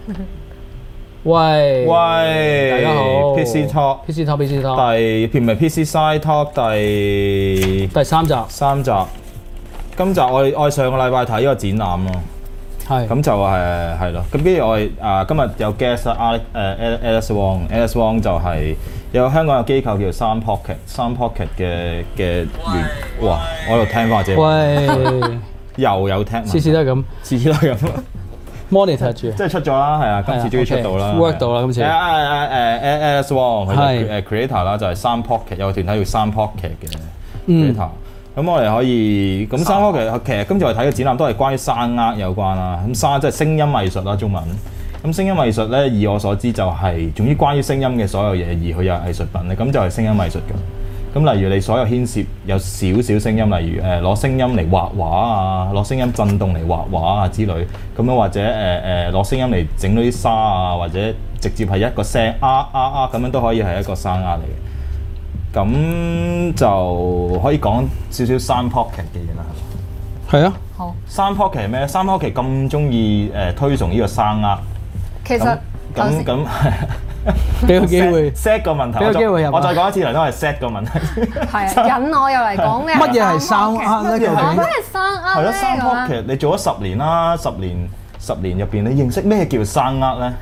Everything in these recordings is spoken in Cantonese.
喂， 大家好 ，PC Talk，第唔係 PC Side Talk 第三集。今集我上個禮拜睇呢個展覽咯，係咁就係咯。咁跟住我今日有 guest Alice Wong 就係有香港嘅機構叫 Sound Pocket 嘅員。哇！我喺度聽翻自己。喂，又有聽。 次次都係咁。monitor 住， 即係出咗啦，係啊，今次終於出到啦 ，work 到啦今次。 Alice Wong 佢係 creator 啦，就係 Sound Pocket 有個團體叫 Sound Pocket 嘅 creator。咁我哋可以咁 Sound Pocket 其實今次我哋睇嘅展覽都係關於聲樂有關啦。咁聲即係聲音藝術啦，中文。咁聲音藝術咧，以我所知就係總之關於聲音嘅所有嘢，而佢有藝術品咧，咁就係聲音藝術㗎。咁例如你所有牽涉有少少聲音，例如攞聲音嚟畫畫啊，攞聲音震動嚟畫畫啊之類，咁樣或者攞聲音嚟整到啲沙啊，或者直接係一個聲咁樣都可以係一個聲嚟嘅。咁就可以講少少 Sound Pocket 嘅嘢啦，係嘛？係啊，好。Sound Pocket 係咩 ？Sound Pocket 咁中意推崇呢個聲樂， 其實咁。 俾個機會 set 個問題，我再講一次嚟都係 set 個問題。 係引我又嚟講咩？ 乜嘢係聲樂咧？ 乜係聲樂咧？ 係咯，Sound Pocket你做咗10年啦，10年入邊，你認識咩叫聲樂咧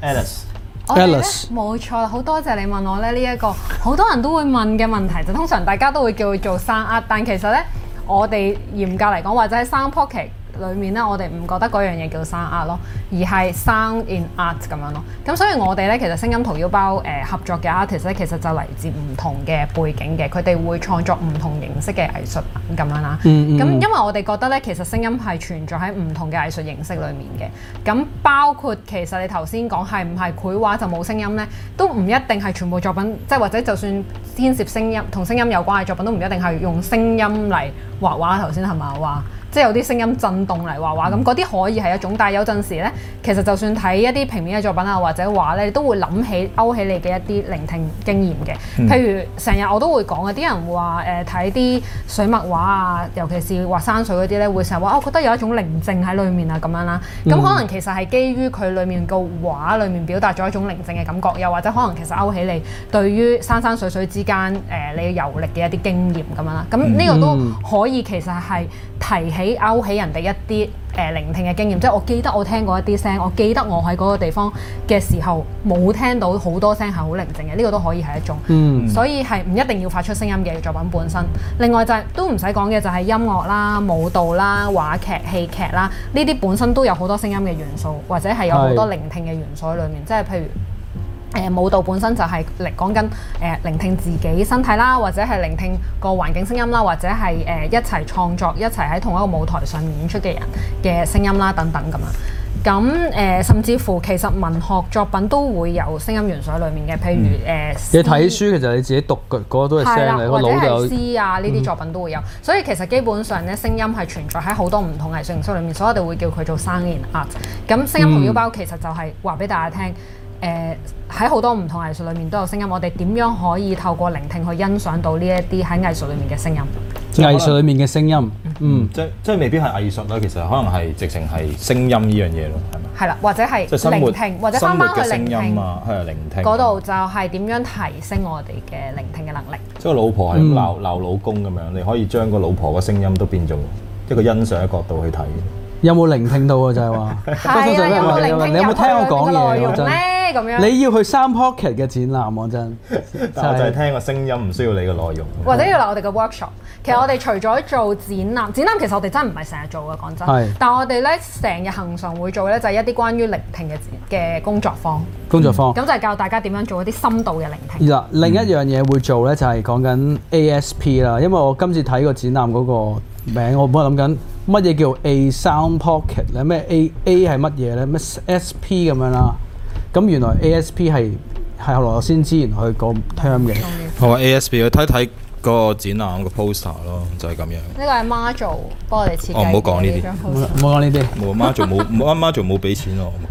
？Alice， 冇錯，好多謝你問我咧呢一個好多人都會問嘅問題，就通常大家都會叫佢做聲樂，但其實咧我哋嚴格嚟講，或者喺 Sound Pocket裏面咧，我哋唔覺得嗰樣嘢叫聲樂咯，而係 sound in art 咁樣咯。咁所以我哋咧其實聲音掏腰包合作嘅 artist 咧，其實就嚟自唔同嘅背景嘅，佢哋會創作唔同形式嘅藝術品咁樣啦。咁因為我哋覺得咧，其實聲音係存在喺唔同嘅藝術形式裏面嘅。咁包括其實你頭先講係唔係繪畫就冇聲音咧，都唔一定係全部作品，即係或者就算牽涉聲音同聲音有關嘅作品，都唔一定係用聲音嚟畫畫。頭先係咪話？即係有啲聲音震動嚟畫畫，咁嗰啲可以係一種，但係有陣時咧，其實就算睇一啲平面嘅作品啊，或者畫咧，你都會勾起你嘅一啲聆聽經驗嘅。譬如成日我都會講嘅，啲人話睇啲水墨畫啊，尤其是畫山水嗰啲咧，會成日話我覺得有一種寧靜喺裡面啊咁樣啦。咁可能其實係基於佢裡面個畫裡面表達咗一種寧靜嘅感覺，又或者可能其實勾起你對於山山水水之間你遊歷嘅一啲經驗咁樣啦。咁呢個都可以其實係提起勾起人哋一啲聆聽嘅經驗，即係我記得我聽過一啲聲，我記得我喺嗰個地方嘅時候冇聽到好多聲係好寧靜嘅，呢個都可以係一種。所以係唔一定要發出聲音嘅作品本身。另外就係都唔使講嘅就係音樂啦、舞蹈啦、話劇、戲劇啦，呢啲本身都有好多聲音嘅元素，或者係有好多聆聽嘅元素喺裡面，即係譬如。舞蹈本身就係講緊聆聽自己身體啦，或者係聆聽個環境聲音啦，或者係一齊創作、一齊喺同一個舞台上面演出嘅人嘅聲音啦，等等咁樣。咁甚至乎其實文學作品都會有聲音元素喺裡面嘅，譬如你睇書其實你自己讀嗰個都係聲嚟，個腦就有或者係詩啊呢啲作品都會有。所以其實基本上咧，聲音係存在喺好多唔同藝術形式裡面，所以我哋會叫佢做 sound in art。咁聲音掏腰包其實就係話俾大家聽。喺好多唔同藝術裏面都有聲音，我哋點樣可以透過聆聽去欣賞到呢一啲喺藝術裏面嘅聲音？ 藝術裏面嘅聲音， 即係未必係藝術啦，其實可能係直情係聲音呢樣嘢咯，係咪？ 係啦，或者係聆聽，或者翻返去聆聽啊，係聆聽嗰度就係點樣提升我哋嘅聆聽嘅能力。 即係老婆係鬧老公咁樣，你可以將個老婆嘅聲音都變做一個欣賞嘅角度去睇。 有冇聆聽到啊？就係話， 係啊，有冇聆聽？ 你有冇聽我講嘢？ 真咁樣， 你要去Sound Pocket嘅展覽，我真。 但我就係聽個聲音，唔需要你嘅內容。 或者要嚟我哋嘅 workshop。其實我哋除咗做展覽其實我哋真係唔係成日做嘅，講真。係。但係我哋咧成日恆常會做咧，就係一啲關於聆聽嘅工作坊。工作坊。咁就係教大家點樣做一啲深度嘅聆聽。嗱， 另一樣嘢會做咧，就係講緊 ASP 啦，因為我今次睇個展覽嗰個名，我本來諗緊。乜嘢叫 A Sound Pocket 咧？咩 A 係乜嘢咧？咩 SP 咁樣啦？咁原來 ASP 係後來我先知，原來佢個 term 嘅。 好啊 ，ASP 去睇睇個展覽個 poster 咯，就係咁樣。 呢個係 Marjo 幫我哋設計。 哦，唔好講呢啲， 唔好講呢啲。 冇 Marjo 冇俾錢我。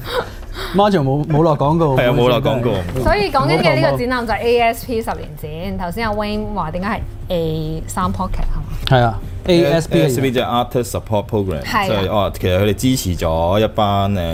Marjo 冇落廣告。 係啊，冇落廣告。 所以講緊嘅呢個展覽就係 ASP 10年展。頭先阿 Wayne 話點解係 A Sound Pocket 係嘛？ 係啊。ASP 就係 Artist Support Program，即係其實佢哋支持咗一班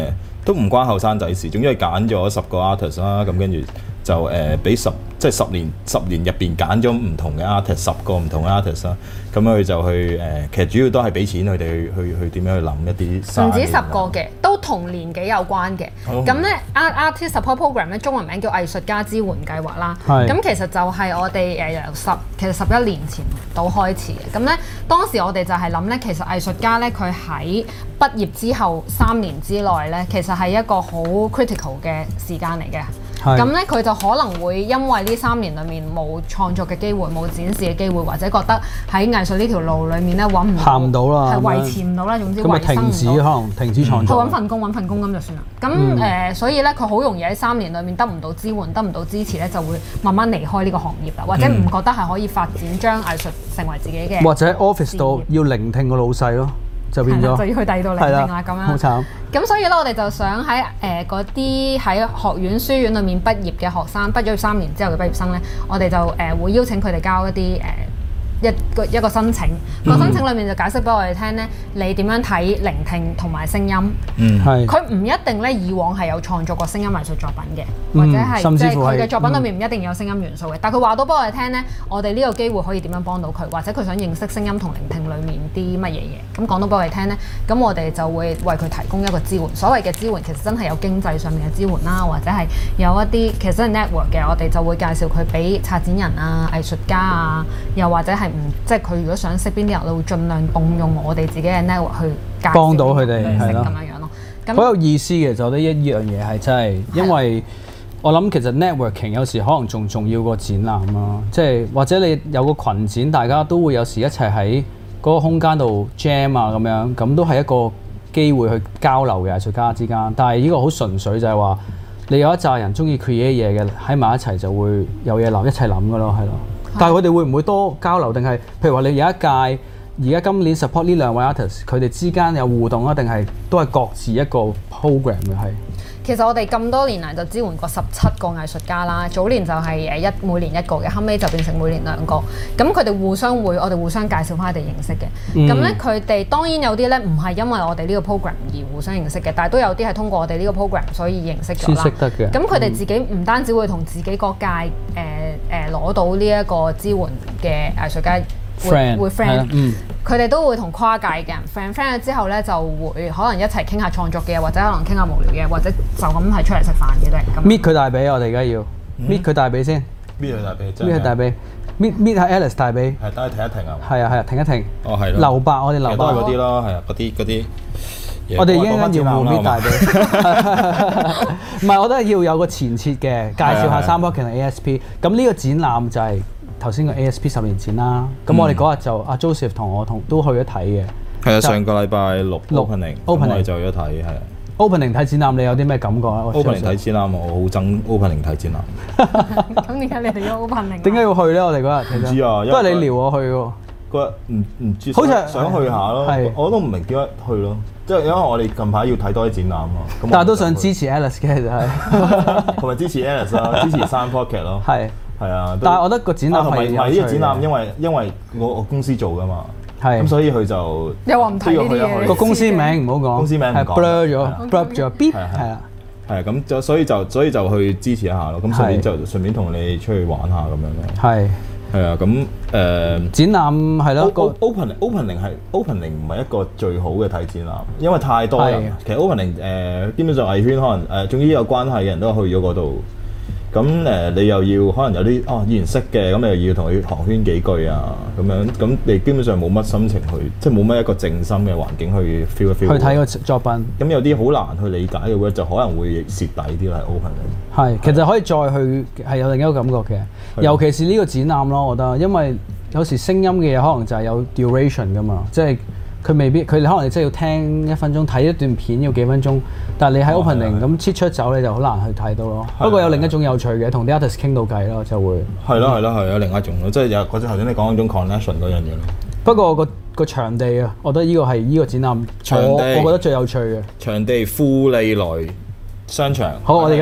都唔關後生仔事，總之係揀咗10個 artist 啦，咁跟住就俾即係10年入邊揀咗唔同嘅 artist，10個唔同嘅 artist 啦，咁佢就去其實主要都係俾錢佢哋去點樣去諗一啲。唔止10個嘅，都同年紀有關嘅。咁咧 Artist Support Program 咧，中文名叫藝術家支援計劃啦。咁其實就係我哋由11年前到開始嘅。咁咧當時我哋就係諗咧，其實藝術家咧佢喺畢業之後3年之內咧，其實係一個好 critical 嘅時間嚟嘅。咁咧佢就可能會因為呢3年裡面冇創作嘅機會、冇展示嘅機會，或者覺得喺藝術呢條路裡面咧揾唔到， 行唔到啦， 係維持唔到啦。總之咁咪停止，可能停止創作。 佢揾份工咁就算啦。咁所以咧佢好容易喺3年裡面得唔到支援、得唔到支持咧，就會慢慢離開呢個行業啦，或者唔覺得係可以發展將藝術成為自己嘅。 或者喺 office 度要聆聽個老細咯。就變咗， 就要去第二度聆聽啦咁樣。 好慘。 咁所以咧，我哋就想喺嗰啲喺學院書院裏面畢業嘅學生，畢咗3年之後嘅畢業生咧，我哋就會邀請佢哋交一啲一個申請，個申請裏面就解釋俾我哋聽咧，你點樣睇聆聽同埋聲音。係。佢唔一定咧，以往係有創作過聲音藝術作品嘅，或者係即係佢嘅作品裏面唔一定有聲音元素嘅。但係佢話到俾我哋聽咧，我哋呢個機會可以點樣幫到佢，或者佢想認識聲音同聆聽裏面啲乜嘢嘢。咁講到俾我哋聽咧，咁我哋就會為佢提供一個支援。所謂嘅支援其實真係有經濟上面嘅支援啦，或者係有一啲其實真係 network 嘅，我哋就會介紹佢俾策展人啊、藝術家啊，又或者係即係佢如果想識邊啲人，我會盡量動用我哋自己嘅 network 去幫到佢哋，係咯， 咁樣咯。 好有意思嘅，就覺得呢樣嘢係真係，因為我諗其實 networking 有時可能仲重要過展覽咯，即係或者你有個群展，大家都會有時一齊喺嗰個空間度 jam 啊咁樣，咁都係一個機會去交流嘅藝術家之間。但係呢個好純粹就係話，你有一紮人中意 create 嘢嘅喺埋一齊就會有嘢諗，一齊諗㗎咯，係咯。但係佢哋會唔會多交流？定係譬如話你有一屆而家今年 support 呢2位 artist， 佢哋之間有互動啊？定係都係各自一個 program 嘅係？ 其實我哋咁多年嚟就支援過17個藝術家啦。早年就係每年1個嘅，後尾就變成每年2個。咁佢哋我哋互相介紹翻佢哋認識嘅。咁咧佢哋當然有啲咧唔係因為我哋呢個 program 而互相認識嘅，但係都有啲係通過我哋呢個 program 所以認識咗啦。先識得嘅。咁佢哋自己唔單止會同自己嗰屆攞到呢一個支援嘅藝術家會 friend，佢哋都會同跨界嘅人 friend 咗之後咧，就會可能一齊傾下創作嘅嘢，或者可能傾下無聊嘅，或者就咁係出嚟食飯嘅都係咁。搣佢大髀，我哋而家要搣佢大髀先。搣佢大髀，搣佢大髀，搣下 Alice 大髀。係，等佢停一停啊！係啊，停一停。哦，係咯。留白，我哋留白。都係嗰啲咯，係啊，嗰啲。我哋已經要搣大髀。唔係，我覺得要有個前設嘅，介紹下3 Pocket 同 ASP。咁呢個展覽就係頭先個 ASP 10年展啦。咁我哋嗰日就阿 Joseph 同我都去咗睇嘅。係啊，上個禮拜6 opening，我哋就去咗睇，係啊。opening 睇展覽，你有啲咩感覺啊 ？opening 睇展覽，我好憎 opening 睇展覽。 咁點解你哋要 opening？ 點解要去咧？我哋嗰日唔知啊，都係你撩我去喎。嗰日唔知，好似想去下咯。我都唔明點解去咯。即係因為我哋近排要睇多啲展覽啊。但係都想支持 Alice 嘅就係，同埋支持 Alice 咯，支持3 Pocket 咯。係啊。但係我覺得個展覽同埋呢個展覽，因為我公司做㗎嘛。係咁，所以佢就又話唔睇呢啲嘢。個公司名唔好講，公司名係 blur 咗 ，blur 咗 ，beep 係啊，係咁所以就去支持一下咯。咁順便同你出去玩下咁樣咯。係啊，咁展覽係咯。opening 唔係一個最好嘅睇展覽，因為太多人。其實 opening 基本上藝圈可能總之有關係嘅人都去咗嗰度。咁你又要可能有啲以前識嘅，咁你又要同佢寒暄幾句啊，咁樣咁你基本上冇乜心情去，即係冇乜一個靜心嘅環境去 feel 一 feel。去睇個作品。咁有啲好難去理解嘅話，就可能會蝕底啲啦。opening 係，其實可以再去係有另一個感覺嘅，尤其是呢個展覽咯，我覺得，因為有時聲音嘅嘢可能就係有 duration 噶嘛，即係。佢未必，佢哋可能真係要聽1分鐘，睇一段片要幾分鐘。但係你喺 opening 咁切出走，你就好難去睇到咯。不過有另一種有趣嘅，同啲 artist 傾到偈咯，就會。係咯，有另一種咯，即係有嗰種頭先你講嗰種 connection 嗰樣嘢咯。不過個場地啊，我覺得呢個係呢個展覽我覺得最有趣嘅。場地富利來商場。好，我哋而家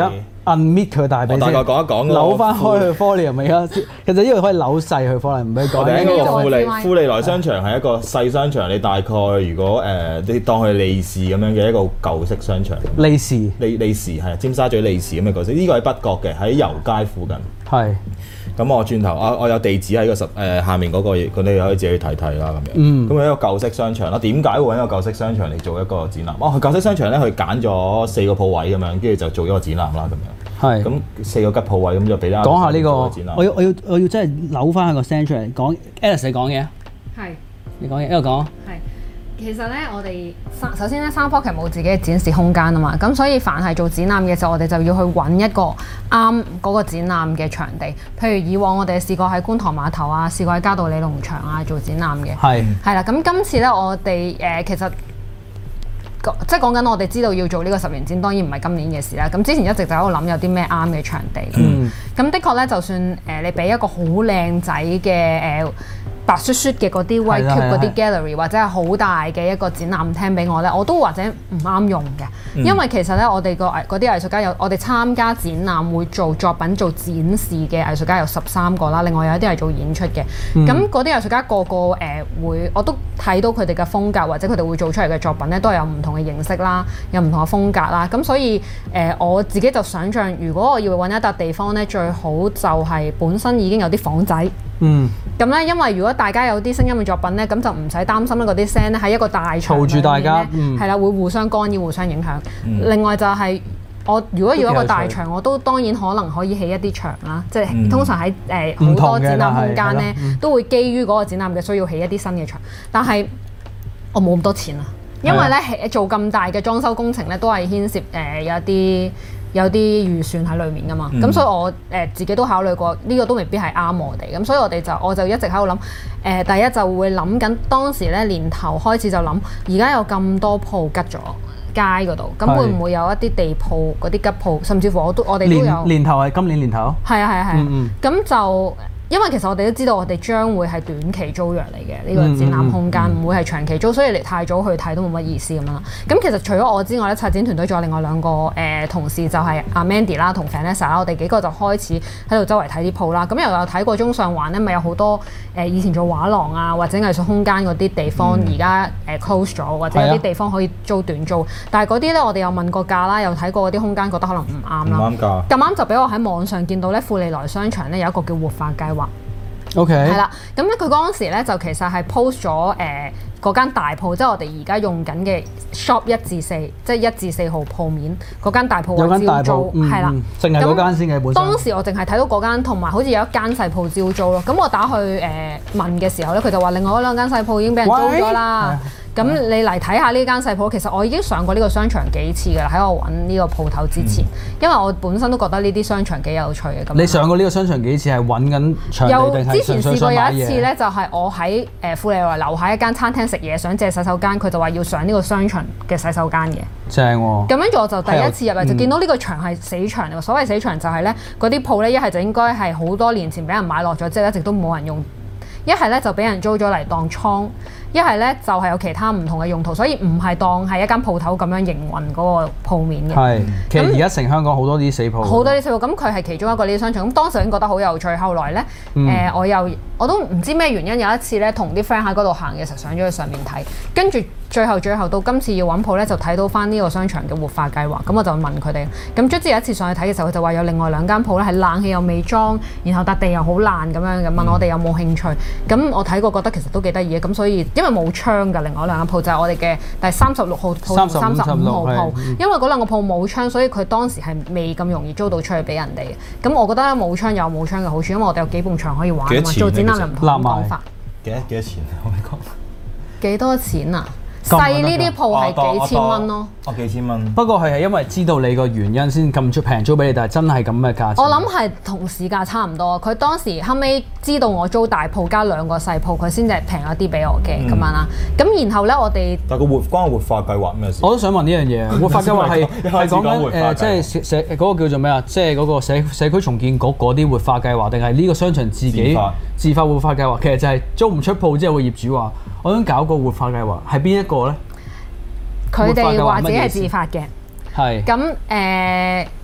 unmit 佢大髀先， 大概講一講扭翻開去 volume 咪而家，其實呢個可以扭細去 volume，唔俾講。 我哋呢個富利來商場係一個細商場，你大概如果你當佢利是咁樣嘅一個舊式商場。利是係尖沙咀利是咁嘅角色，呢個喺北角嘅，喺油街附近。係。咁我轉頭我有地址喺個下面嗰個嘢，你可以自己去睇睇啦咁樣。咁係一個舊式商場啦。點解會揾一個舊式商場嚟做一個展覽？舊式商場咧，佢揀咗4個鋪位咁樣，跟住就做咗個展覽啦咁樣。係。咁4個吉鋪位咁就俾大家講下呢個展覽。 我要真係扭翻個聲出嚟講 Alice 你講嘢。係。你講嘢，一路講。係。 其實咧，我哋首先咧，3Pocket 冇自己嘅展示空間啊嘛，咁所以凡係做展覽嘅時候，我哋就要去揾一個啱嗰個展覽嘅場地。譬如以往我哋試過喺觀塘碼頭啊，試過喺嘉道理農場啊做展覽嘅。係啦，咁今次咧我哋其實即係講緊我哋知道要做呢個10年展，當然唔係今年嘅事啦。咁之前一直就喺度諗有啲咩啱嘅場地。咁的確咧，就算你俾一個好靚仔嘅白雪雪嘅嗰啲 White Cube 嗰啲 gallery 或者係好大嘅一個展覽廳俾我咧，我都或者唔啱用嘅，因為其實咧我哋嗰啲藝術家我哋參加展覽會做作品做展示嘅藝術家有13個啦，另外有一啲係做演出嘅。咁嗰啲藝術家個會，我都睇到佢哋嘅風格或者佢哋會做出嚟嘅作品咧，都係有唔同嘅形式啦，有唔同嘅風格啦。咁所以我自己就想像，如果我要揾一笪地方咧，最好就係本身已經有啲房仔。咁咧，因為如果大家有啲聲音嘅作品咧，咁就唔使擔心咧嗰啲聲咧喺一個大場嘈住大家，係啦，會互相干擾、互相影響。另外就係我如果要一個大場，我都當然可能可以起一啲牆啦，即係通常喺好多展覽空間咧，都會基於嗰個展覽嘅需要起一啲新嘅牆。但係我冇咁多錢啊，因為咧做咁大嘅裝修工程咧，都係牽涉有啲預算喺裏面噶嘛，咁所以我自己都考慮過，呢個都未必係啱我哋，咁所以我就一直喺度諗，第一就會諗緊當時咧年頭開始就諗，而家有咁多鋪吉咗街嗰度，咁會唔會有一啲地鋪嗰啲吉鋪，甚至乎我哋都有年頭係今年年頭， 係啊，咁就。因為其實我哋都知道，我哋將會係短期租約嚟嘅呢個展覽空間，唔會係長期租，所以你太早去睇都冇乜意思咁樣啦。咁其實除咗我之外咧，策展團隊仲有另外2個同事，就係阿 Mandy 啦同 Vanessa 啦，我哋幾個就開始喺度周圍睇啲鋪啦。咁又有睇過中上環咧，咪有好多以前做畫廊啊或者藝術空間嗰啲地方，而家close 咗，或者有啲地方可以租短租。但係嗰啲咧，我哋有問過價啦，又睇過嗰啲空間，覺得可能唔啱啦。唔啱價。咁啱就俾我喺網上見到咧，富利來商場咧有一個叫活化計劃。 OK， 係啦，咁咧佢嗰陣時咧就其實係 post 咗嗰間大鋪，即係我哋而家用緊嘅 shop 1至4，即係1至4號鋪面嗰間大鋪有間大鋪，係啦， 淨係嗰間先嘅本身。 當時我淨係睇到嗰間，同埋好似有一間細鋪招租咯。咁我打去問嘅時候咧，佢就話另外嗰2間細鋪已經俾人租咗啦。咁你嚟睇下呢間細鋪，其實我已經上過呢個商場幾次㗎啦，喺我揾呢個鋪頭之前，因為我本身都覺得呢啲商場幾有趣嘅。咁你上過呢個商場幾次係揾緊場地定係純粹想買嘢？之前試過有一次咧，就係我喺富利來樓下一間餐廳食嘢，想借洗手間，佢就話要上呢個商場嘅洗手間嘅。正喎！咁跟住我就第一次入嚟就見到呢個場係死場嚟喎。所謂死場就係咧，嗰啲鋪咧一係就應該係好多年前俾人買落咗，之後一直都冇人用。一係咧就俾人租咗嚟當倉，一係咧就係有其他唔同嘅用途，所以唔係當係一間鋪頭咁樣營運嗰個鋪面嘅。係，其實而家成香港好多啲死鋪。好多啲死鋪，咁佢係其中一個呢啲商場。咁當時已經覺得好有趣，後來咧我都唔知咩原因，有一次咧同啲 friend 喺嗰度行嘅時候上咗去上面睇，跟住最後到今次要揾鋪咧就睇到翻呢個商場嘅活化計劃，咁我就問佢哋，咁卒之有一次上去睇嘅時候，佢就話有另外2間鋪咧係冷氣又未裝，然後笪地又好爛咁樣嘅，問我哋有冇興趣。咁我睇過覺得其實都幾得意嘅，咁所以因為冇窗㗎，另外2間鋪就係我哋嘅第36號鋪同35號鋪，因為嗰2個鋪冇窗，所以佢當時係未咁容易租到出去俾人哋嘅。咁我覺得冇窗有冇窗嘅好處，因為我哋有幾埲牆可以玩啊嘛，做展覽又唔同講法。幾多錢啊？可唔可以講？幾多錢啊？細呢啲鋪係幾千蚊咯。 幾千蚊。 不過係因為知道你個原因先咁平租俾你，但係真係咁嘅價錢。 我諗係同市價差唔多。佢當時後尾知道我租大鋪加2個細鋪，佢先至平咗啲俾我嘅咁樣啦。咁然後咧，我哋但係關活化計劃咩事？ 我都想問呢樣嘢。活化計劃係講緊即係嗰個叫做咩啊？即係嗰個社區重建局嗰啲活化計劃，定係呢個商場自己自發活化計劃？其實就係租唔出鋪之後，個業主話：我想搞個活化計劃，係邊一個咧？ 佢哋話自己係自發嘅。係。咁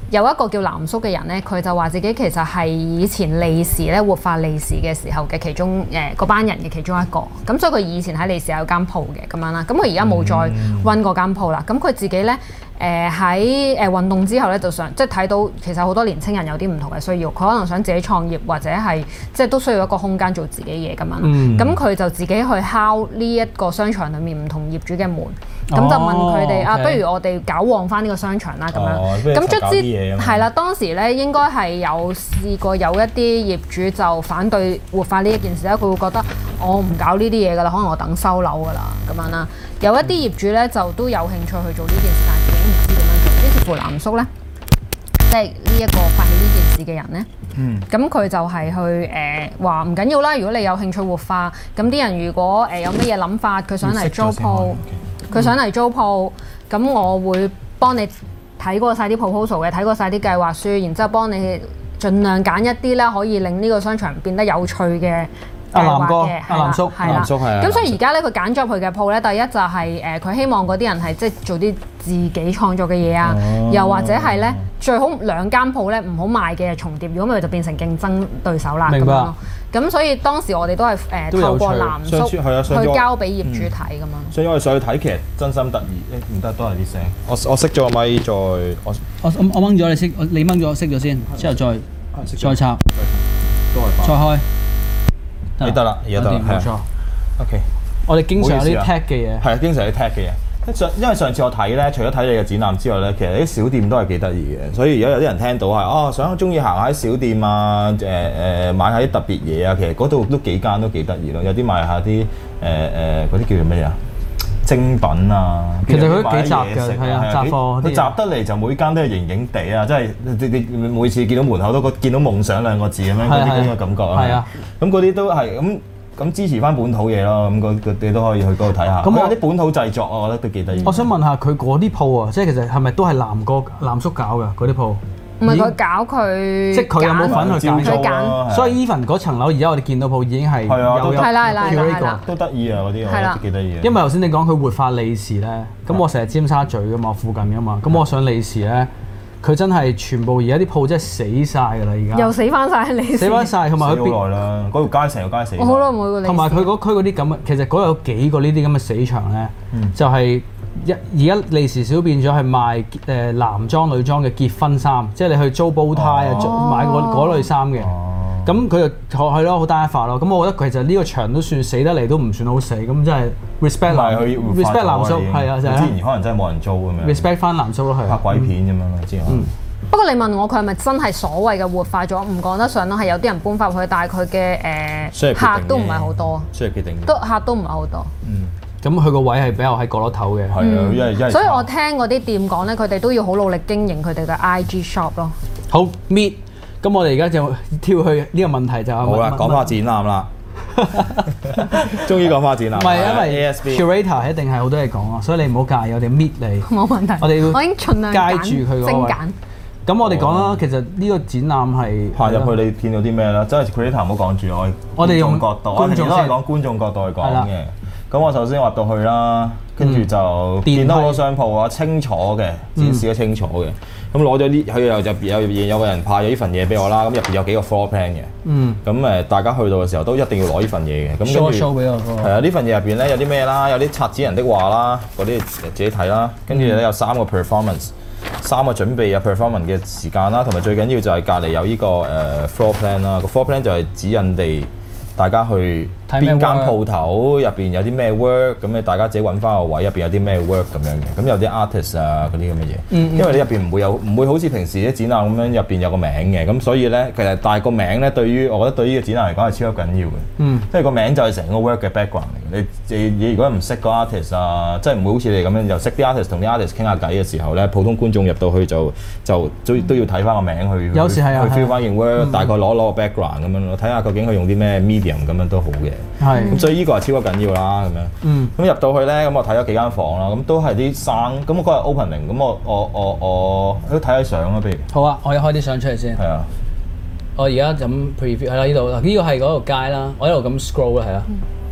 有一個叫藍叔嘅人咧，佢就話自己其實係以前利時咧活化利時嘅時候嘅其中嗰班人嘅其中一個，咁所以佢以前喺利時有間鋪嘅咁樣啦，咁佢而家冇再溫嗰間鋪啦，咁佢自己咧喺運動之後咧就想即係睇到其實好多年青人有啲唔同嘅需要，佢可能想自己創業或者係即係都需要一個空間做自己嘢咁樣，咁佢就自己去敲呢一個商場裡面唔同業主嘅門。咁就問佢哋啊，不如我哋搞旺翻呢個商場啦咁樣。咁卒之係啦，當時咧應該係有試過有一啲業主就反對活化呢一件事咧，佢會覺得我唔搞呢啲嘢㗎啦，可能我等收樓㗎啦咁樣啦。有一啲業主咧就都有興趣去做呢件事，但係自己唔知點樣做。於是乎藍叔咧，即係呢一個發起呢件事嘅人咧，咁佢就係去話唔緊要啦，如果你有興趣活化，咁啲人如果有乜嘢諗法，佢想嚟租鋪。佢想嚟租鋪，咁我會幫你睇過晒啲 proposal 嘅，睇過晒啲計劃書，然之後幫你盡量揀一啲咧可以令呢個商場變得有趣嘅計劃嘅， 藍叔， 係啦。咁所以而家咧佢揀咗佢嘅鋪咧，第一就係佢希望嗰啲人係即係做啲自己創作嘅嘢啊，又或者係咧最好兩間鋪咧唔好賣嘅重疊，如果唔係就變成競爭對手啦。 明白。 咁所以當時我哋都係透過藍叔去交俾業主睇咁樣。 所以我哋上去睇其實真心得意，唔得都係啲聲。我熄咗個咪再我掹咗你掹咗熄咗先，之後再插，再開。 你得啦，而家得啦，冇錯。OK， 我哋經常有啲 tag 嘅嘢， 係啊，經常有啲 tag 嘅嘢。因為上次我睇咧，除咗睇你嘅展覽之外咧，其實啲小店都係幾得意嘅。所以而家有啲人聽到係想中意行下啲小店啊，買下啲特別嘢啊，其實嗰度都幾間都幾得意咯。有啲賣下啲嗰啲叫做咩啊？精品啊， 其實佢都幾雜嘅，係啊，雜貨。 佢雜得嚟就每間都係型型地啊，即係你每次見到門口都見到夢想兩個字咁樣嗰啲咁嘅感覺啊。係啊，咁嗰啲都係咁支持翻本土嘢咯，咁你都可以去嗰度睇下。咁有啲本土製作，我覺得都幾得意。 我想問下佢嗰啲鋪啊，即係其實係咪都係藍叔搞㗎嗰啲鋪？ 唔係佢搞佢， 即係佢有冇份去揀？所以 even 嗰層樓而家我哋見到鋪已經係有係啦， 都得意啊嗰啲，我覺得幾得意。 因為頭先你講佢活化利時咧，咁我成日尖沙咀㗎嘛，附近㗎嘛，咁我上利時咧。佢真係全部而家啲鋪真係死晒㗎啦！而家又死翻晒，你死翻晒，同埋佢好耐啦，嗰條街成條街死。 我好耐冇去過利時。同埋佢嗰區嗰啲咁嘅，其實嗰有幾個呢啲咁嘅死場咧，就係而家利時少變咗係賣男裝女裝嘅結婚衫，即係你去租煲呔啊，買嗰類衫嘅。咁佢就係咯，好單一化咯。咁我覺得其實呢個場都算死得嚟，都唔算好死。咁真係 respect 藍叔，係啊，就係。之前可能真係冇人租咁樣。 respect 翻藍叔咯，係。 拍鬼片咁樣咯，之前。 不過你問我佢係咪真係所謂嘅活化咗？唔講得上咯，係有啲人搬翻入去，但係佢嘅客都唔係好多。 需要決定。 客都唔係好多。 咁佢個位係比較喺角落頭嘅。 係啊， 所以我聽嗰啲店講咧，佢哋都要好努力經營佢哋嘅 IG shop 咯。 好 meet。咁我哋而家就跳去呢個問題就好啦，講翻展覽啦，終於講翻展覽。 唔係因為 curator 一定係好多嘢講啊，所以你唔好介意，我哋搣你。 冇問題。 我哋我已經盡量街住佢嗰位。咁我哋講啦，其實呢個展覽係行入去你見到啲咩咧？真係 curator 唔好講住我哋用角度，我哋都係講觀眾角度去講嘅。咁我首先入到去啦，跟住就見到好多商鋪啊，清楚嘅展示得清楚嘅。咁攞咗呢，佢又入邊有個人派咗呢份嘢俾我啦。咁入邊有幾個 floor plan 嘅。咁大家去到嘅時候都一定要攞呢份嘢嘅。咁跟住 show 俾我。 係啊，呢份嘢入邊咧有啲咩啦？有啲策展人的話啦，嗰啲自己睇啦。跟住咧有3個 performance， 3個準備啊 performance 嘅時間啦，同埋最緊要就係隔離有呢個floor plan 啦。個 floor plan 就係指引地大家去邊間鋪頭入邊有啲咩 work， 咁你大家自己揾翻個位入邊有啲咩 work 咁樣嘅。咁有啲 artist 啊嗰啲咁嘅嘢，因為你入邊唔會好似平時啲展覽咁樣入邊有個名嘅，咁所以咧其實但係個名咧對於我覺得對於個展覽嚟講係超級緊要嘅，即係個名就係成個 work 嘅 background 嚟嘅。你如果唔識個 artist 啊，即係唔會好似你咁樣又識啲 artist 同啲 artist 傾下偈嘅時候咧，普通觀眾入到去就都要睇翻個名去， 有時係去 feel 翻件 work，大概攞個 background 咁樣咯，睇下究竟佢用啲咩 medium 咁樣都好嘅。 係， 咁所以呢個係超級緊要啦，咁樣。咁入到去咧，咁我睇咗幾間房啦，咁都係啲生。咁我嗰日 opening，咁我都睇下相啦，不如。 好啊，我要開啲相出嚟先。 係啊。我而家咁 preview 係啦，呢度嗱，呢個係嗰條街啦，我一路咁 scroll 啦，係啦。咁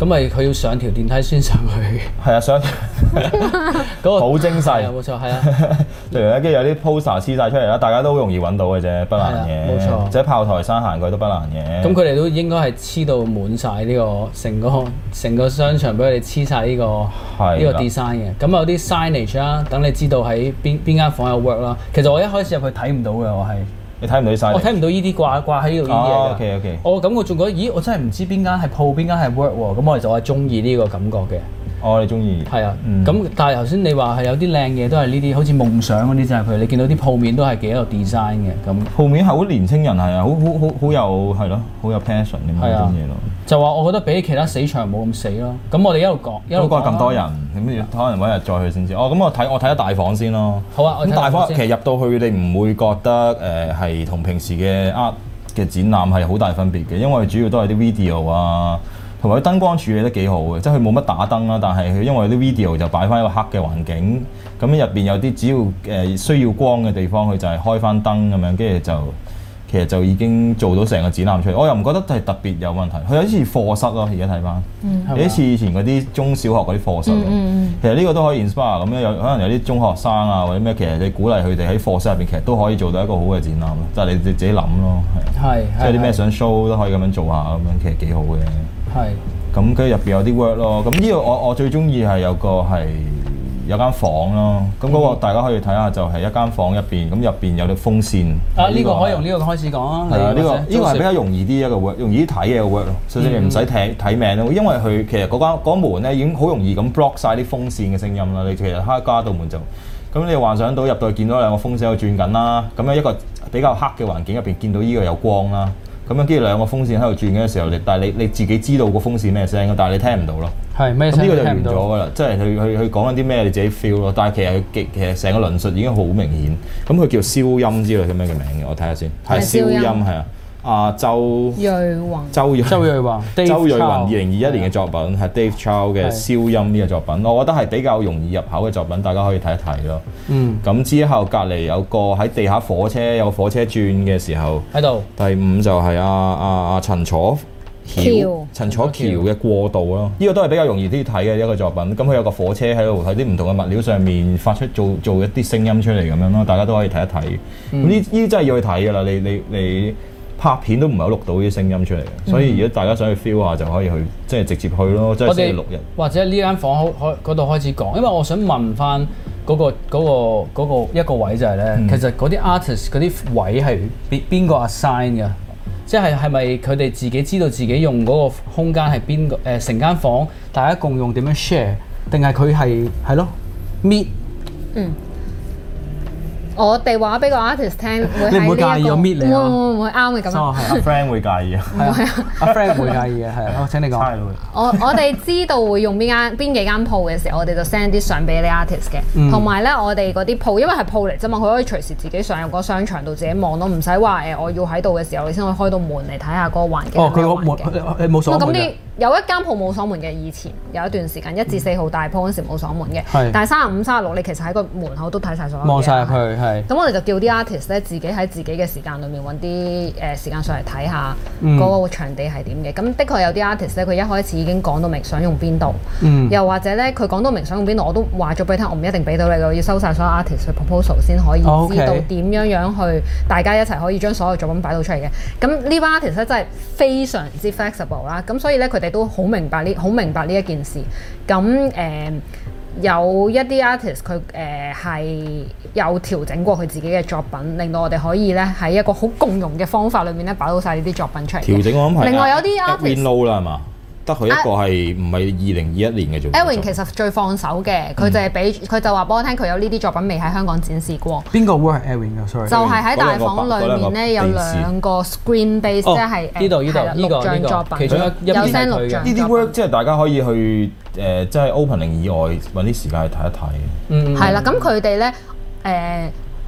咁咪佢要上條電梯先上去。 係啊，上嗰個好精細。 冇錯，係啊。 例如咧，跟住有啲 poster 黐晒出嚟啦，大家都好容易揾到嘅啫，不難嘅。冇錯。即係炮台山行過都不難嘅。咁佢哋都應該係黐到滿晒呢個成個商場俾佢哋黐晒呢個 design 嘅。咁有啲 signage 啦，等你知道喺邊間房有 work 啦。其實我一開始入去睇唔到嘅，我係。你睇唔到啲 signage？我睇唔到呢啲掛喺呢度呢啲嘢。OK。我感覺仲覺得，咦，我真係唔知邊間係鋪，邊間係 work 喎。咁我就係中意呢個感覺嘅。你中意？係啊。咁但係頭先你話係有啲靚嘢都係呢啲，好似夢想嗰啲就係佢。你見到啲鋪面都係幾有 design 嘅。咁鋪面係好年青人係啊，好有係咯，好有 passion 咁樣種嘢咯。就話我覺得比其他死場冇咁死咯。咁我哋一路講咁多人，咁可能揾日再去先知。咁我睇咗大房先咯。好啊。咁大房其實入到去你唔會覺得係同平時嘅 art 嘅展覽係好大分別嘅，因為主要都係啲 video 啊。同埋啲燈光處理得幾好嘅，即係佢冇乜打燈啦，但係佢因為啲 video 就擺翻一個黑嘅環境，咁入邊有啲只要需要光嘅地方，佢就係開翻燈咁樣，跟住就其實就已經做到成個展覽出嚟。我又唔覺得係特別有問題，佢有啲似課室咯，而家睇翻，有啲似以前嗰啲中小學嗰啲課室。其實呢個都可以 inspire 咁樣，可能有啲中學生啊或者咩，其實你鼓勵佢哋喺課室入邊，其實都可以做到一個好嘅展覽咯。就係你自己諗咯，係。即係啲咩想 show 都可以咁樣做下咁樣，其實幾好嘅。係，咁跟住入邊有啲 work 咯，咁呢個我最中意係有間房咯，咁嗰個大家可以睇下，就係一間房入邊，咁入邊有啲風扇。呢個可以用呢個開始講啊。係啊，呢個係比較容易啲一個 work，容易啲睇嘅一個 work 咯，所以你唔使睇名咯，因為佢其實嗰門咧已經好容易咁 block 晒啲風扇嘅聲音啦。你其實加道門就，咁你幻想到入到去見到兩個風扇喺度轉緊啦，咁樣一個比較黑嘅環境入邊見到呢個有光啦。咁樣跟住兩個風扇喺度轉嘅時候，但係你自己知道個風扇咩聲，但係你聽唔到咯。係咩聲？咁呢個就完咗㗎啦，即係佢講緊啲咩你自己 feel 咯。但係其實成個論述已經好明顯。咁佢叫消音之類咁樣嘅名嘅，我睇下先。係消音係啊。周睿宏2021年嘅作品係 Dave Chow 嘅消音呢個作品，我覺得係比較容易入口嘅作品，大家可以睇一睇咯。咁之後隔離有個喺地下火車有個火車轉嘅時候喺度。第5就係陳楚橋嘅過渡咯，呢個都係比較容易啲睇嘅一個作品。咁佢有個火車喺度喺啲唔同嘅物料上面發出做一啲聲音出嚟咁樣咯，大家都可以睇一睇。咁呢啲真係要去睇㗎啦，你拍片都唔係好錄到啲聲音出嚟嘅，所以如果大家想去 feel 下就可以去，即係直接去咯，即係星期六日。或者呢間房嗰度開始講，因為我想問翻嗰個一個位就係咧，其實嗰啲 artist 嗰啲位係邊個 assign 㗎？即係咪佢哋自己知道自己用嗰個空間係邊個？成間房大家共用點樣 share？定係佢係咯 meet？我哋話俾個 artist 聽，你唔會介意我搣你啊？會啱嘅咁樣。係阿 friend 會介意啊？係啊，阿 friend 會介意嘅，係。好，請你講。我哋知道會用邊幾間鋪嘅時候，我哋就 send 啲相俾你 artist 嘅。同埋咧，我哋嗰啲鋪，因為係鋪嚟啫嘛，佢可以隨時自己上入個商場度自己望咯，唔使話我要喺度嘅時候，你先可以開到門嚟睇下嗰個環境。佢個門冇鎖門嘅。有一間鋪冇鎖門嘅，以前有一段時間1至4號大鋪嗰時冇鎖門嘅，但係35、36你其實喺個門口都睇晒所有嘢。望晒入去係。咁我哋就叫啲 artist 咧自己喺自己嘅時間裏面揾啲時間上嚟睇下嗰個場地係點嘅。咁的確有啲 artist 咧，佢一開始已經講到明想用邊度，又或者咧佢講到明想用邊度，我都話咗俾你聽，我唔一定俾到你嘅，我要收晒所有 artist 嘅 proposal 先可以知道點樣去大家一齊可以將所有作品擺到出嚟嘅。咁呢班 artist 咧真係非常之 flexible 啦，咁所以咧佢哋都好明白呢一件事。咁有一啲 artist 佢係有調整過佢自己嘅作品，令到我哋可以咧喺一個好共融嘅方法裏面咧擺到晒呢啲作品出嚟。調整我諗係。另外有啲 artist low 啦係嘛？得佢一個係唔係2021年嘅作品。Edwin 其實最放手嘅，佢就係佢就話俾我聽，佢有呢啲作品未喺香港展示過。邊個 work Edwin 㗎 ？sorry。就係喺大房裏面咧有2個 screen base，即係錄像作品，其中有 send 錄像。呢啲 work 即係大家可以去即係 opening 以外揾啲時間去睇一睇。係啦，咁佢哋咧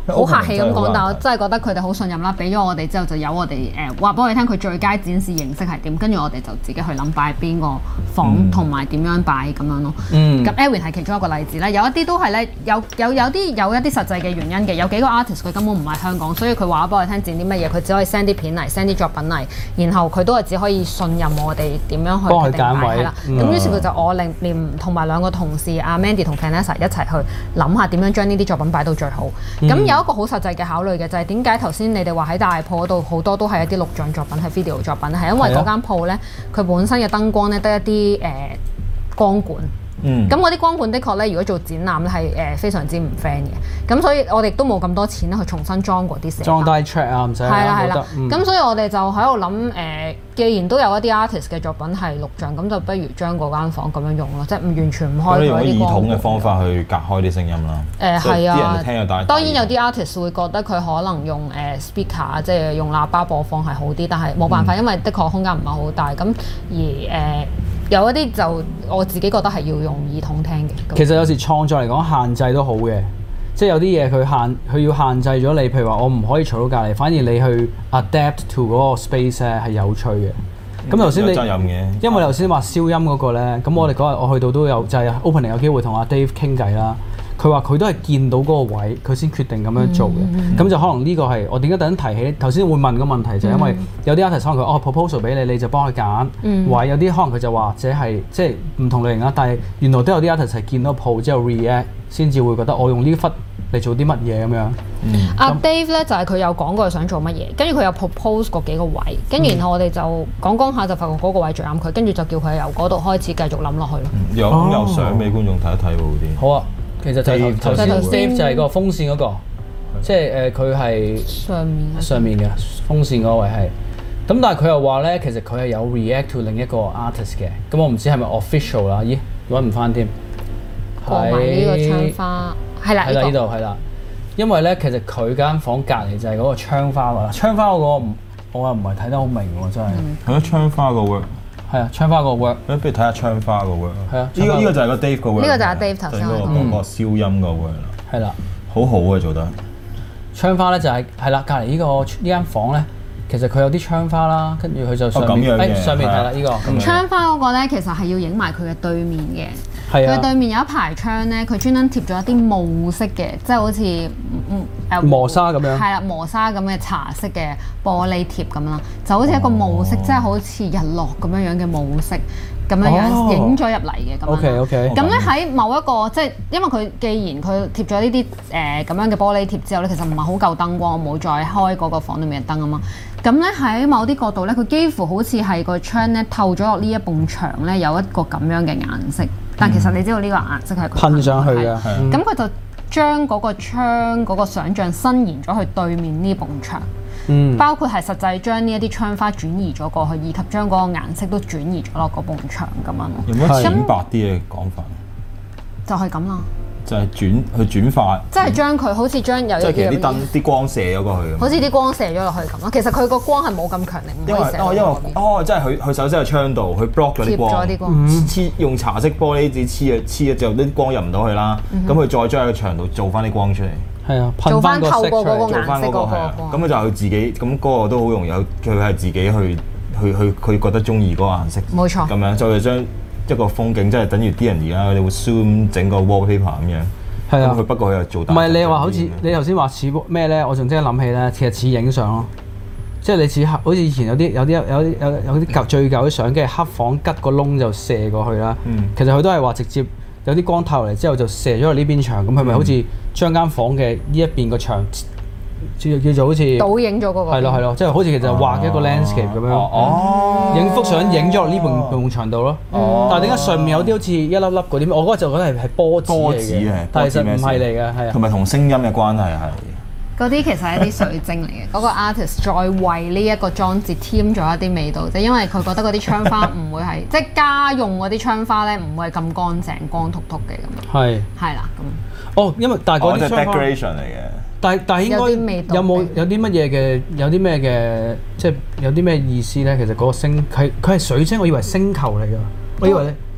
好客氣咁講，但我真係覺得佢哋好信任啦。俾咗我哋之後，就由我哋話俾我哋聽佢最佳展示形式係點，跟住我哋就自己去諗擺邊個房同埋點樣擺咁樣咯。咁 Edwin 係其中一個例子啦。有一啲都係咧，有一啲實際嘅原因嘅。有幾個 artist 佢根本唔係香港，所以佢話俾我哋聽展啲乜嘢，佢只可以 send 啲片嚟 ，send 啲作品嚟，然後佢都係只可以信任我哋點樣去決定擺係啦。咁於是佢就我連同埋兩個同事阿 Mandy 同 Vanessa 一齊去諗下點樣將呢啲作品擺到最好。咁有一個好實際嘅考慮嘅就係點解頭先你哋話喺大鋪嗰度好多都係一啲錄像作品係 video 作品，係因為嗰間鋪咧佢本身嘅燈光咧得一啲光管。咁嗰啲光管的確咧，如果做展覽咧係非常之唔 friend 嘅，咁所以我哋都冇咁多錢咧去重新裝嗰啲寫。裝 die track 啊，唔使。係啦。咁所以我哋就喺度諗既然都有一啲 artist 嘅作品係錄像，咁就不如將嗰間房咁樣用咯，即係唔完全唔開嗰啲光。用耳筒嘅方法去隔開啲聲音啦。係啊。啲人聽又大。當然有啲 artist 會覺得佢可能用speaker 即係用喇叭播放係好啲，但係冇辦法，因為的確空間唔係好大。咁而有一啲就我自己覺得係要用耳筒聽嘅。 其實有時創作嚟講限制都好嘅，即係有啲嘢佢要限制咗你，譬如話我唔可以嘈到隔離，反而你去 adapt to 嗰個 space 咧係有趣嘅。咁頭先你責任嘅，因為頭先話燒音嗰個咧，咁我哋嗰日我去到都有就係 opening 有機會同阿 Dave 傾偈啦。佢話佢都係見到嗰個位，佢先決定咁樣做嘅。咁就可能呢個係我點解突然提起頭先會問個問題，就係因為有啲 artist 可能佢proposal 俾你，你就幫佢揀位。有啲可能佢就或者係即係唔同類型啦，但係原來都有啲 artist 係見到鋪之後 react 先至會覺得我用呢忽嚟做啲乜嘢咁樣。 阿 Dave 咧就係佢有講過佢想做乜嘢，跟住佢有 propose 過幾個位，跟住然後我哋就講下就發覺嗰個位最啱佢，跟住就叫佢由嗰度開始繼續諗落去咯。 有相俾觀眾睇一睇好啲。好啊。 其實就係頭先 Dave 就係個風扇嗰個，即係佢係上面嘅風扇嗰位係。咁但係佢又話咧，其實佢係有 react to 另一個 artist 嘅。咁我唔知係咪 official 啦？咦，揾唔翻添。 過埋呢個窗花，係啦， 呢度係啦。因為咧，其實佢間房隔離就係嗰個窗花㗎啦。窗花嗰個我又唔係睇得好明喎，真係。 係咯，窗花個 work。 係啊，窗花個 work，不如睇下窗花個 work。係啊，呢個就係個 Dave 個 work。 呢個就係 Dave 頭先嗰個燒音個 work 啦。 係啦， 好好啊，做得。 窗花咧就係啦，隔離呢間房咧，其實佢有啲窗花啦，跟住佢就上面上面係啦呢個。 窗花嗰個咧，其實係要影埋佢嘅對面嘅。 係啊。 佢對面有一排窗咧，佢專登貼咗一啲霧色嘅，即係好似磨砂咁樣。 係啦，磨砂咁嘅茶色嘅玻璃貼咁啦，就好似一個霧色，即係好似日落咁樣樣嘅霧色咁樣樣影咗入嚟嘅咁樣。 OK。 咁咧喺某一個即係因為佢既然佢貼咗呢啲咁樣嘅玻璃貼之後咧，其實唔係好夠燈光，我冇再開嗰個房裏面嘅燈啊嘛。咁咧喺某啲角度咧，佢幾乎好似係個窗咧透咗落呢一埲牆咧，有一個咁樣嘅顏色。但其實你知道呢個顏色係噴上去嘅。 咁佢就將嗰個窗嗰個想像伸延咗去對面呢埲牆。包括係實際將呢一啲窗花轉移咗過去，以及將嗰個顏色都轉移咗落嗰埲牆咁樣咯。 有冇淺白啲嘅講法？ 就係咁啦。 就係轉化。即係將佢好似將有即係其實啲燈啲光射咗過去。 好似啲光射咗落去咁咯。其實佢個光係冇咁強力，唔可以射。 即係佢首先喺窗度，佢 block 咗啲光，黐用茶色玻璃紙黐咗之後，啲光入唔到去啦。咁佢再將喺個牆度做翻啲光出嚟。 係啊， 做翻透過嗰個顏色嗰個光。咁佢就佢自己，咁嗰個都好容易，佢係自己去佢覺得中意嗰個顏色。 冇錯。 咁樣再將一個風景，即係等於啲人而家佢哋會 zoom 整個 wallpaper 咁樣。 係啊。 佢不過佢又做大。 唔係你話好似你頭先話似咩咧？我仲即刻諗起咧，其實似影相咯。即係你似好似以前有啲舊最舊啲相機，黑房吉個窿就射過去啦。其實佢都係話直接。有啲光透嚟之後就射咗去呢邊牆，咁係咪好似將間房嘅呢一邊個牆叫做好似倒影咗嗰個？ 係咯，即係好似其實畫一個 landscape 咁樣，影幅相影咗落呢埲牆度咯。但係點解上面有啲好似一粒粒嗰啲？我嗰個就覺得係波子嚟嘅，但係其實唔係嚟嘅，係啊。 同埋同聲音嘅關係係。 嗰啲其實係一啲水晶嚟嘅，嗰個 artist 再為呢一個裝置添咗一啲味道，即係因為佢覺得嗰啲窗花唔會係即係家用嗰啲窗花咧，唔會係咁乾淨、光禿禿嘅咁樣。係啦，咁。 哦，因為但係嗰啲窗花 decoration 嚟嘅。但係應該有啲乜嘢嘅？有啲咩嘅？即係有啲咩意思咧？其實嗰個星佢係水晶，我以為星球嚟㗎。我以為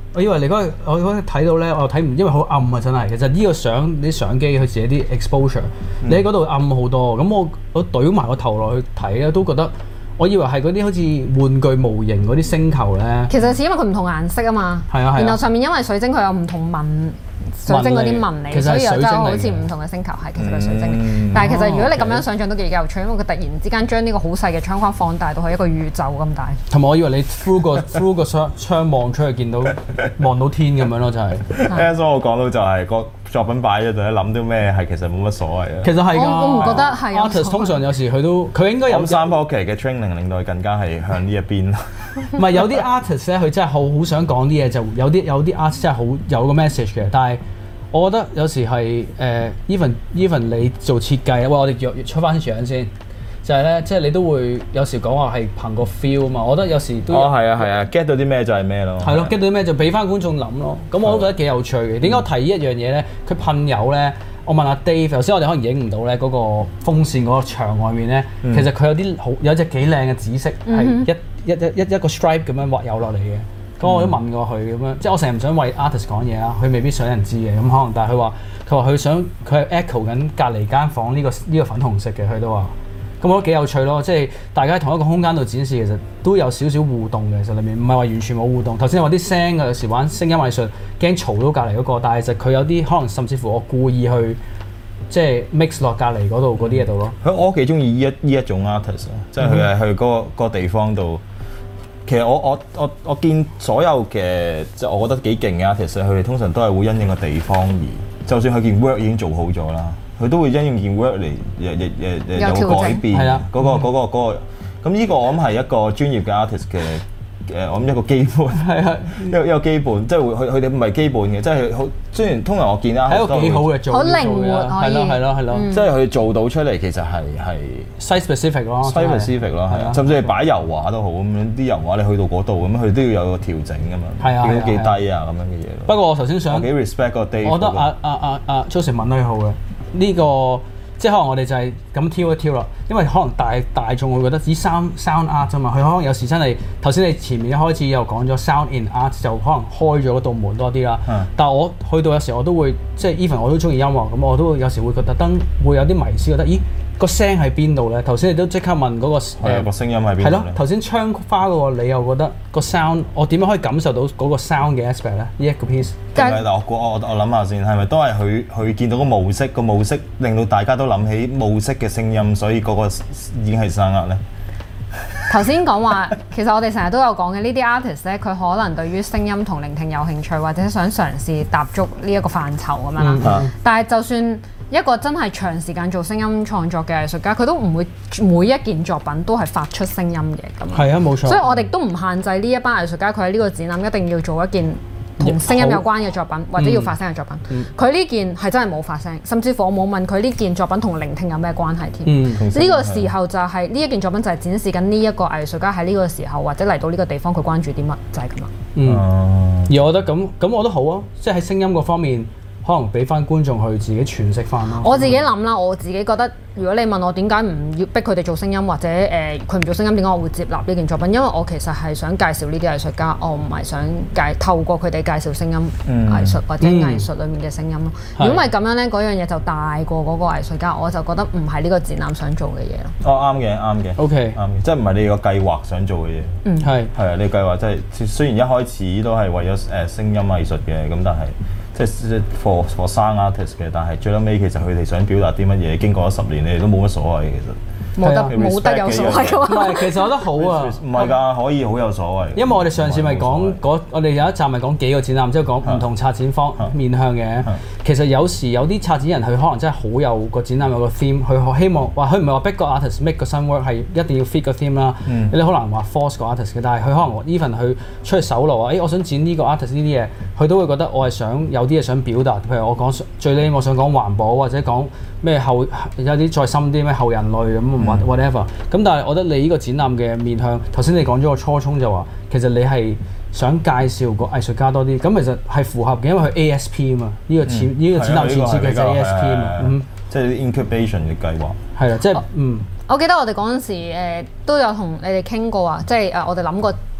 我以為你我嗰日睇到咧，我又睇唔，因為好暗啊，真係。其實呢個啲相機佢自己啲 exposure，你喺嗰度暗好多。咁我懟埋個頭落去睇咧，都覺得我以為係嗰啲好似玩具模型嗰啲星球咧。其實係因為佢唔同顏色啊嘛。 係啊係啊。 然後上面因為水晶佢有唔同紋。水晶嗰啲紋嚟，所以又真係好似唔同嘅星球係其實係水晶嚟。但係其實如果你咁樣想像都幾有趣，因為佢突然之間將呢個好細嘅窗框放大到係一個宇宙咁大。 同埋我以為你 through 個窗望出去見到望到天咁樣咯，就係。 所以我講到就係個作品擺喺度咧，諗到咩係其實冇乜所謂啊。 其實係㗎， 我唔覺得係。 artist 通常有時佢應該有 3 Pocket 嘅 training 令到佢更加係向呢一邊。 唔係有啲 artist 咧，佢真係好想講啲嘢，就有啲 artist 真係好有個 message 嘅，但係。我覺得有時係even 你做設計，喂，我哋出翻相先，就係咧，即係你都會有時講話係憑個 feel 啊嘛。我覺得有時都係啊 get 到啲咩就係咩咯。係咯 get 到啲咩就俾翻觀眾諗咯。咁我都覺得幾有趣嘅。點解我提一樣嘢咧？佢噴油咧，我問阿 Dave，頭先我哋可能影唔到咧嗰個風扇嗰個牆外面咧，其實佢有隻幾靚嘅紫色，係一個 stripe 咁樣畫油落嚟嘅。咁我都問過佢咁樣，即係我成日唔想為 artist 講嘢啦，佢未必想人知嘅，咁可能，但係佢話佢係 echo 緊隔離間房呢個粉紅色嘅，佢都話，咁我覺得幾有趣咯，即係大家喺同一個空間度展示，其實都有少少互動嘅，其實裡面唔係話完全冇互動。頭先話啲聲有時玩聲音藝術，驚嘈到隔離嗰個，但係其實佢有啲可能甚至乎我故意去即係 mix 落隔離嗰度嗰啲嘢度咯。 我幾中意呢一種 artist， 即係佢係去嗰個地方度。其實我見所有嘅即係我覺得幾勁嘅 artist，佢哋通常都係會因應個地方而，就算佢件 work 已經做好咗啦，佢都會因應件 work 嚟有改變。係啊，嗰個咁呢個我諗係一個專業嘅 artist 嘅。我諗一個基本係啊，一個基本，即係佢哋唔係基本嘅，即係好。雖然通常我見啦， 係一個幾好嘅做， 好靈活可以， 係咯， 即係佢做到出嚟其實係 site specific 咯 ，site specific 咯，係啊，甚至係擺油畫都好咁樣，啲油畫你去到嗰度咁，佢都要有個調整㗎嘛，調到幾低啊咁樣嘅嘢。 不過我頭先想幾 respect 個 Dave， 我覺得阿 Joseph 問得好嘅呢個。即係可能我哋就係咁挑一挑啦，因為可能大眾會覺得只 sound art 啫嘛，佢可能有時真係頭先你前面一開始又講咗 sound in art 就可能開咗嗰道門多啲啦。但係我去到有時我都會即係 even 我都中意音樂，咁我都有時會覺得特登會有啲迷思，覺得咦個聲喺邊度咧？頭先你都即刻問嗰個個聲音喺邊度？ 係咯，頭先窗花嗰個你又覺得個 sound 我點樣可以感受到嗰個 sound 嘅 aspect 咧？呢一個 piece。 我諗下先，係咪都係佢見到個模式令到大家都諗起模式嘅聲音，所以嗰個已經係生壓咧？ 頭先講話，其實我哋成日都有講嘅呢啲 artist 咧，佢可能對於聲音同聆聽有興趣，或者想嘗試踏足呢一個範疇咁樣啦。但係就算一個真係長時間做聲音創作嘅藝術家，佢都唔會每一件作品都係發出聲音嘅咁。 係啊，冇錯。 所以我哋都唔限制呢一班藝術家，佢喺呢個展覽一定要做一件同聲音有關嘅作品，或者要發聲嘅作品。佢呢件係真係冇發聲，甚至乎我冇問佢呢件作品同聆聽有咩關係添。呢個時候就係呢一件作品就係展示緊呢一個藝術家喺呢個時候或者嚟到呢個地方佢關注啲乜，就係咁啦。 而我覺得咁我覺得好啊，即係喺聲音嗰方面。可能俾翻觀眾去自己詮釋翻咯。 我自己諗啦，我自己覺得，如果你問我點解唔要逼佢哋做聲音，或者佢唔做聲音，點解我會接納呢件作品？因為我其實係想介紹呢啲藝術家，我唔係想透過佢哋介紹聲音藝術或者藝術裡面嘅聲音咯。如果唔係咁樣咧，嗰樣嘢就大過嗰個藝術家，我就覺得唔係呢個展覽想做嘅嘢咯。 啱嘅。OK，啱嘅，即係唔係你個計劃想做嘅嘢。係啊，你計劃即係雖然一開始都係為咗聲音藝術嘅，咁但係。即係 for 生 artist 嘅，但係最後尾其實佢哋想表達啲乜嘢，經過咗10年，你哋都冇乜所謂嘅其實。冇得有所謂㗎嘛？ 唔係，其實我覺得好啊。 唔係㗎，可以好有所謂。 因為我哋上次咪講我哋有一集咪講幾個展覽，即係講唔同策展方面向嘅。其實有時有啲策展人佢可能真係好有個展覽有個 theme，佢希望話佢唔係話逼個 artist make 個新 work 係一定要 fit 個 theme 啦。你好難話 force 個 artist 嘅，但係佢可能 even 佢出去搜羅我想展呢個 artist 呢啲嘢，佢都會覺得我係想有啲嘢想表達。譬如我講最尾我想講環保或者講咩有啲再深啲咩後人類咁。whatever 咁，但係我覺得你呢個展覽嘅面向，頭先你講咗個初衷就話，其實你係想介紹個藝術家多啲，咁其實係符合嘅，因為佢 ASP 啊嘛，呢個展覽前設嘅就係 ASP 啊嘛， 即係 incubation 嘅計劃。係啊，即係我記得我哋嗰陣時都有同你哋傾過啊，即係我哋諗過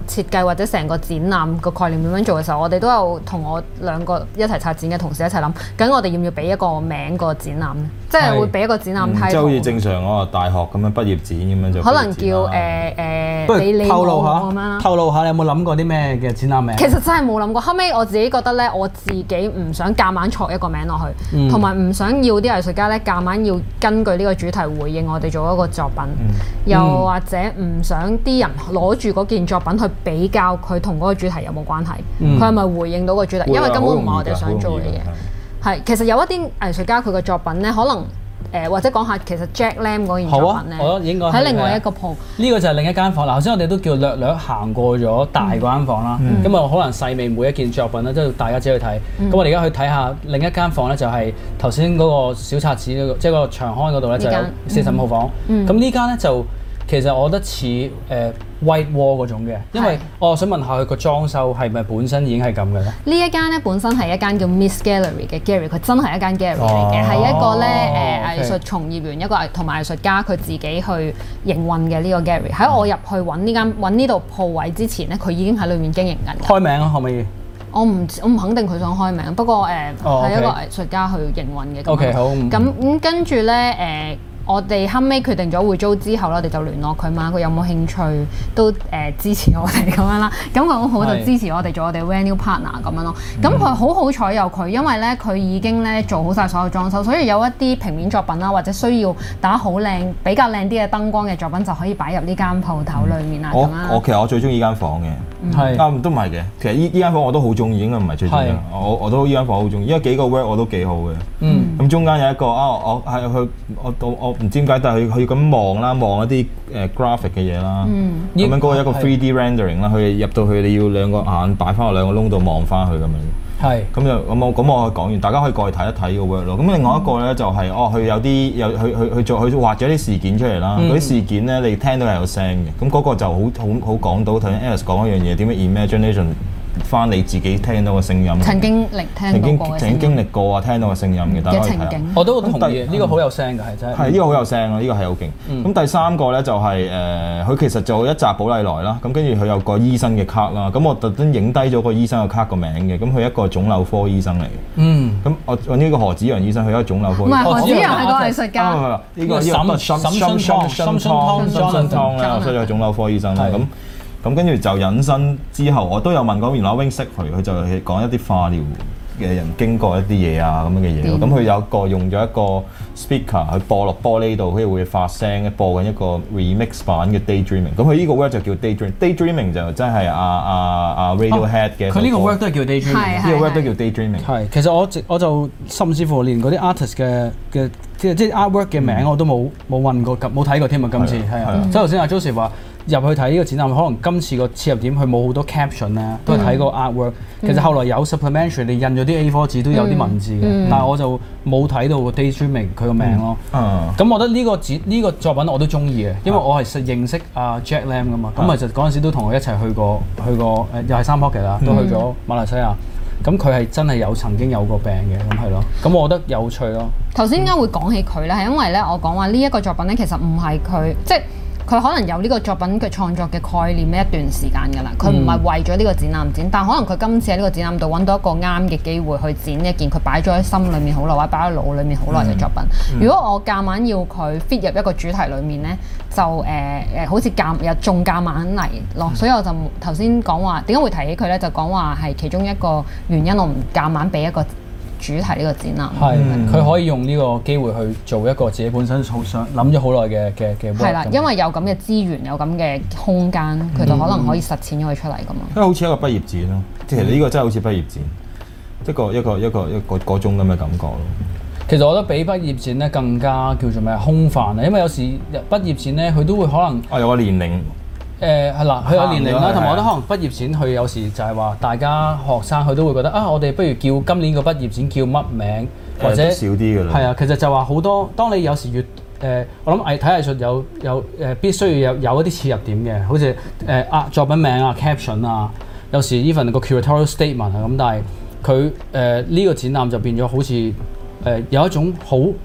設計或者成個展覽個概念點樣做嘅時候，我哋都有同我兩個一齊策展嘅同事一齊諗，究竟我哋要唔要俾一個名個展覽咧？即係會俾一個展覽title，即係好似正常嗰個大學咁樣畢業展咁樣就。可能叫不如透露下，透露下你有冇諗過啲咩嘅展覽名？ 其實真係冇諗過，後尾我自己覺得咧，我自己唔想夾硬錯一個名落去，同埋唔想要啲藝術家咧夾硬要根據呢個主題回應我哋做一個作品，又或者唔想啲人攞住嗰件作品去比較佢同嗰個主題有冇關係，佢係咪回應到個主題？因為根本唔係我哋想做嘅嘢。係，其實有一啲藝術家佢嘅作品咧，可能。或者講下其實 Jack Lam 嗰件作品咧， 我應該喺另外一個鋪。 呢個就係另一間房。嗱，頭先我哋都叫略行過咗大嗰間房啦。咁啊，可能細微每一件作品咧，都大家自己去睇。咁我哋而家去睇下另一間房咧，就係頭先嗰個小冊子嗰個，即係個長刊嗰度咧，就有45號房。咁呢間咧就其實我覺得似White Wall 嗰種嘅，因為我想問下佢個裝修係咪本身已經係咁嘅咧？呢一間咧本身係一間叫 Miss Gallery 嘅 Gallery， 佢真係一間 Gallery 嚟嘅，係一個咧藝術從業員，一個同埋藝術家佢自己去營運嘅呢個 Gallery。喺我入去揾呢度鋪位之前咧，佢已經喺裏面經營緊。開名啊，可唔可以？我唔肯定佢想開名，不過係一個藝術家去營運嘅。 OK， 好。 咁跟住咧我哋後尾決定咗會租之後咧，我哋就聯絡佢嘛，佢有冇興趣都支持我哋咁樣啦。咁佢好就支持我哋做我哋 venue partner 咁樣咯。咁佢好彩有佢，因為咧佢已經咧做好晒所有裝修，所以有一啲平面作品啦，或者需要打好靚、比較靚啲嘅燈光嘅作品，就可以擺入呢間鋪頭裡面啦。 其實我最中意呢間房嘅，都唔係嘅。其實呢間房我都好中意，應該唔係最中意。我都呢間房好中意，因為幾個 work 我都幾好嘅。咁中間有一個我唔知點解，但係佢咁望啦，望一啲graphic 嘅嘢啦，咁樣嗰個一個 3D rendering 啦，佢入到去你要兩個眼擺翻落兩個窿度望翻去咁樣。係。咁我講完，大家可以過去睇一睇個 work 咯。咁另外一個咧就係佢有啲佢畫咗啲事件出嚟啦。嗰啲事件咧你聽到係有聲嘅，咁嗰個就好講到頭先 Alice 講一樣嘢，點樣 imagination。翻你自己聽到嘅聲音， 曾經經歷過啊，聽到嘅聲音嘅，大家可以睇下。 我都同意，呢個好有聲嘅，係真係。係呢個好有聲啊，呢個係好勁。咁第三個咧就係佢其實做一集寶麗來啦，咁跟住佢有個醫生嘅卡啦，咁我特登影低咗個醫生嘅卡個名嘅，咁佢一個腫瘤科醫生嚟嘅。咁我揾呢個何子陽醫生，佢一個腫瘤科。唔係何子陽係個藝術家。 呢個沈春湯啦，所以係腫瘤科醫生啦。咁跟住就引申之後，我都有問過原來 Wing 識佢就係講一啲化療嘅人經過一啲嘢啊咁樣嘅嘢咯。咁佢有一個用咗一個 speaker 去播落玻璃度，佢會發聲，播緊一個 remix 版嘅 Daydreaming。咁佢呢個 work 就叫 Daydreaming 就真係阿 Radiohead 嘅。佢呢個 work 都係叫 Daydreaming，呢個 work 都叫 Daydreaming。係，其實我就甚至乎連嗰啲 artist 嘅即係 artwork 嘅名我都冇問過，冇睇過添啊！今次係啊，即係頭先阿 Joseph 話。入去睇呢個展覽，可能今次個切入點佢冇好多 caption 咧，都係睇個 artwork。其實後來有 supplementary，你印咗啲 A4 紙都有啲文字嘅，但係我就冇睇到個 Daydreaming 佢個名咯。咁我覺得呢個作品我都中意嘅，因為我係認識阿 Jack Lam 噶嘛。咁其實嗰陣時都同佢一齊去過又係3 Pocket 啦，都去咗馬來西亞。咁佢係真係曾經有過病嘅，咁係咯。咁我覺得有趣咯。 頭先點解會講起佢咧？係因為咧，我講話呢一個作品咧，其實唔係佢即係。佢可能有呢個作品嘅創作嘅概念呢一段時間㗎啦，佢唔係為咗呢個展覽展，但可能佢今次喺呢個展覽度揾到一個啱嘅機會去展一件佢擺咗喺心裏面好耐或者擺喺腦裏面好耐嘅作品。如果我夾硬要佢 fit 入一個主題裏面呢，就好似仲夾硬嚟咯，所以我就頭先講話點解會提起佢呢？就講話係其中一個原因，我唔夾硬俾一個主題呢個展覽係佢可以用呢個機會去做一個自己本身好想諗咗好耐嘅 work。係啦， 因為有咁嘅資源，有咁嘅空間，佢就可能可以實踐咗佢出嚟咁咯。 因為好似一個畢業展咯，其實呢個真係好似畢業展，一個嗰種咁嘅感覺咯。 其實我覺得比畢業展咧更加叫做咩空泛啊，因為有時畢業展咧佢都會可能有個年齡。 係啦，佢有年齡啦，同埋我覺得可能畢業展佢有時就係話大家學生佢都會覺得我哋不如叫今年個畢業展叫乜名，或者少啲㗎啦。 係啊，其實就話好多，當你有時越我諗睇藝術有必須要有一啲切入點嘅，好似作品名啊、caption 啊，有時 even 個 curatorial statement 啊咁，但係佢呢個展覽就變咗好似有一種好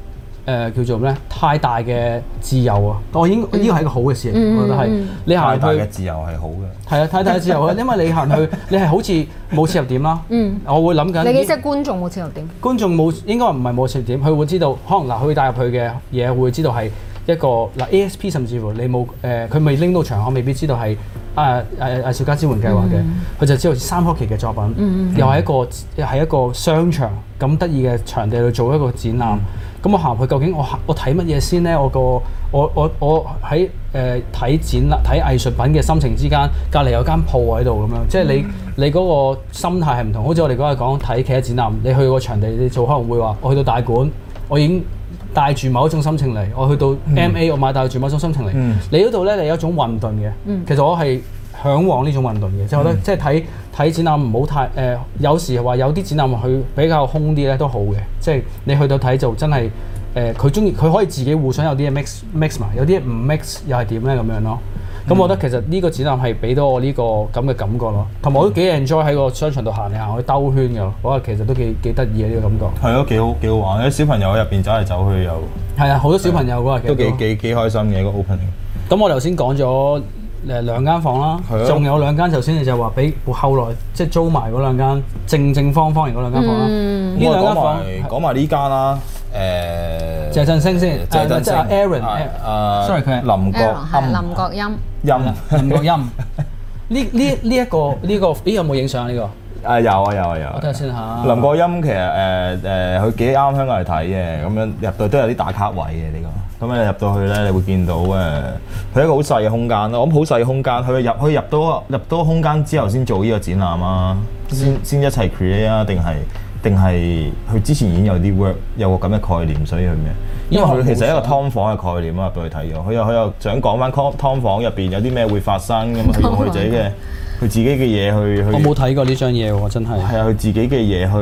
叫做咩太大嘅自由啊！我應呢個係一個好嘅事嚟，我覺得係你行去太大嘅自由係好嘅。 係啊，太大嘅自由啊，因為你行去你係好似冇切入點啦。我會諗緊。 你幾識觀眾冇切入點？ 觀眾冇應該唔係冇切入點，佢會知道可能佢帶入去嘅嘢會知道係一個ASP 甚至乎你冇佢未拎到場，我未必知道係藝術家支援計劃嘅，佢就知道三璞奇嘅作品，又係一個商場咁得意嘅場地去做一個展覽。咁我行去究竟我睇乜嘢先咧？我喺睇展覽睇藝術品嘅心情之間，隔離有間鋪喺度咁樣，即係你嗰個心態係唔同。好似我哋嗰日講睇其他展覽，你去個場地你做可能會話，我去到大館，我已經帶住某一種心情嚟；我去到 MA，我帶住某一種心情嚟。你嗰度咧，你有一種混沌嘅。其實我係嚮往呢種運動嘅，即係覺得即係睇展覽唔好太有時話有啲展覽佢比較空啲咧都好嘅，即係你去到睇就真係佢可以自己互相有啲嘢 mix 埋，有啲嘢唔 mix 又係點咧咁樣咯。咁我覺得其實呢個展覽係俾到我呢個咁嘅感覺咯，同埋我都幾 enjoy 喺個商場度行嚟行去兜圈㗎，嗰日其實都幾得意嘅呢個感覺。係咯，幾好玩，啲小朋友喺入邊走嚟走去又係啊，好多小朋友嗰日都幾開心嘅一個 opening。 咁我頭先講咗兩間房啦，仲有兩間頭先你就話俾後來即係租埋嗰兩間正方形嗰兩間房啦。呢兩間房講埋呢間啦， 謝振聲先，即係 Aaron，sorry 佢係林國音。 林國音。呢一個有冇影相呢個？ 有。 我睇下先嚇。 林國音其實佢幾啱香港嚟睇嘅，咁樣入到都有啲打卡位嘅呢個。咁你入到去咧，你會見到佢一個好細嘅空間咯。我諗好細嘅空間，佢入到空間之後先做呢個展覽啊，先一齊 create 啊，定係佢之前已經有啲 work 有個咁嘅概念，所以佢咩？因為佢其實係一個劏房嘅概念啊，入到去睇咗。佢又想講翻劏房入邊有啲咩會發生咁啊，佢用佢自己嘅嘢去。 我冇睇過呢張嘢喎，真係。係啊， 佢自己嘅嘢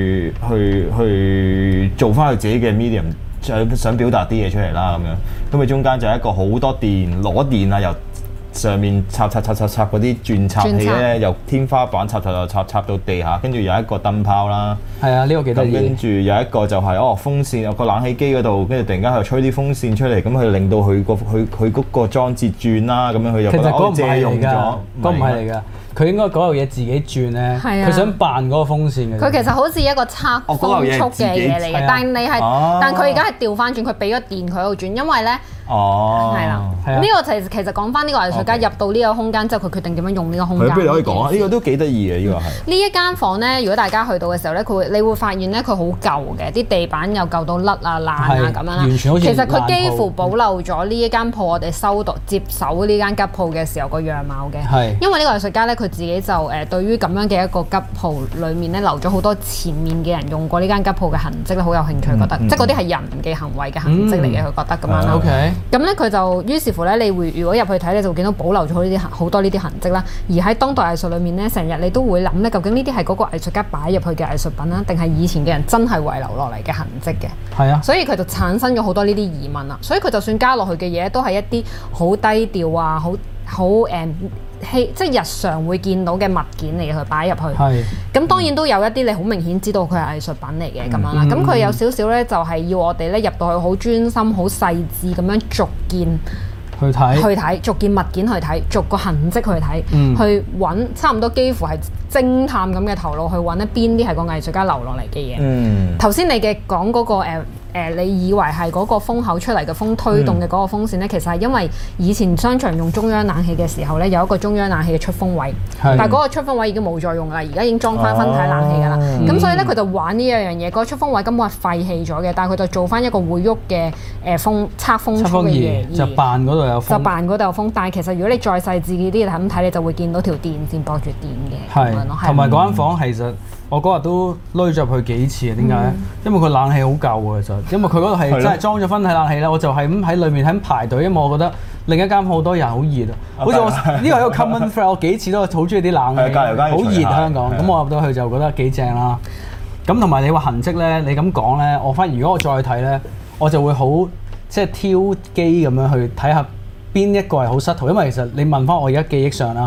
去做翻佢自己嘅 medium。想表達啲嘢出嚟啦，咁佢中間就係一個好多攞電啊，由上面插嗰啲轉插器咧，由天花板插到地下，跟住有一個燈泡啦。係啊，呢個幾得意。跟住有一個就係風扇，有個冷氣機嗰度，跟住突然間佢吹啲風扇出嚟，咁佢令到佢嗰個裝置轉啦，咁樣佢就覺得借用咗。嗰唔係嚟㗎。佢應該嗰嚿嘢自己轉咧，佢想扮嗰個風扇嘅。佢其實好似一個測風速嘅嘢嚟嘅，但佢而家係調翻轉，佢俾咗電佢喺度轉，因為咧。係啦，呢個其實講翻呢個藝術家入到呢個空間之後，佢決定點樣用呢個空間。 不如你可以講啊，呢個都幾得意嘅，呢個係。 呢一間房咧，如果大家去到嘅時候咧，你會發現咧，佢好舊嘅，啲地板又舊到甩啊爛啊咁樣啦。完全好似其實佢幾乎保留咗呢一間鋪，我哋接手呢間吉鋪嘅時候個樣貌嘅。係。因為呢個藝術家咧，佢自己就對於咁樣嘅一個吉鋪裡面咧，留咗好多前面嘅人用過呢間吉鋪嘅痕跡咧，好有興趣，覺得即係嗰啲係人嘅行為嘅痕跡嚟嘅，佢覺得咁樣啦。OK。咁咧佢就於是乎咧，你會如果入去睇咧，就會見到保留咗好多呢啲痕跡啦。而喺當代藝術裏面咧，成日你都會諗咧，究竟呢啲係嗰個藝術家擺入去嘅藝術品啦，定係以前嘅人真係遺留落嚟嘅痕跡嘅？係啊。所以佢就產生咗好多呢啲疑問啦。所以佢就算加落去嘅嘢，都係一啲好低調啊，好即係日常會見到嘅物件嚟去擺入去。係。咁當然都有一啲你好明顯知道佢係藝術品嚟嘅咁樣啦。咁佢有少少咧，就係要我哋咧入到去好專心、好細緻咁樣逐件去睇，逐件物件去睇，逐個痕跡去睇，去揾差唔多幾乎係偵探咁嘅頭腦去揾咧邊啲係個藝術家留落嚟嘅嘢。頭先你嘅講嗰個你以為係嗰個風口出嚟嘅風推動嘅嗰個風扇咧，其實係因為以前商場用中央冷氣嘅時候咧，有一個中央冷氣嘅出風位，但係嗰個出風位已經冇再用啦，而家已經裝翻分體冷氣㗎啦。咁所以咧佢就玩呢一樣嘢，嗰個出風位根本係廢棄咗嘅，但係佢就做翻一個會喐嘅測風速嘅嘢，就扮嗰度有風。但係其實如果你再細緻啲咁睇，你就會見到條電線駁住電嘅。係， 同埋嗰間房其實。我嗰日都攞咗入去幾次啊？點解咧？因為佢冷氣好舊啊，其實。因為佢嗰度係真係裝咗分體冷氣咧，我就係咁喺裏面喺排隊，因為我覺得另一間好多人好熱啊。好似我呢個係一個 common thread，我幾次都好中意啲冷氣，好熱香港。咁我入到去就覺得幾正啦。咁同埋你話痕跡咧，你咁講咧，我發現如果我再睇咧，我就會好即係挑機咁樣去睇下邊一個係好失圖，因為其實你問翻我而家記憶上啦。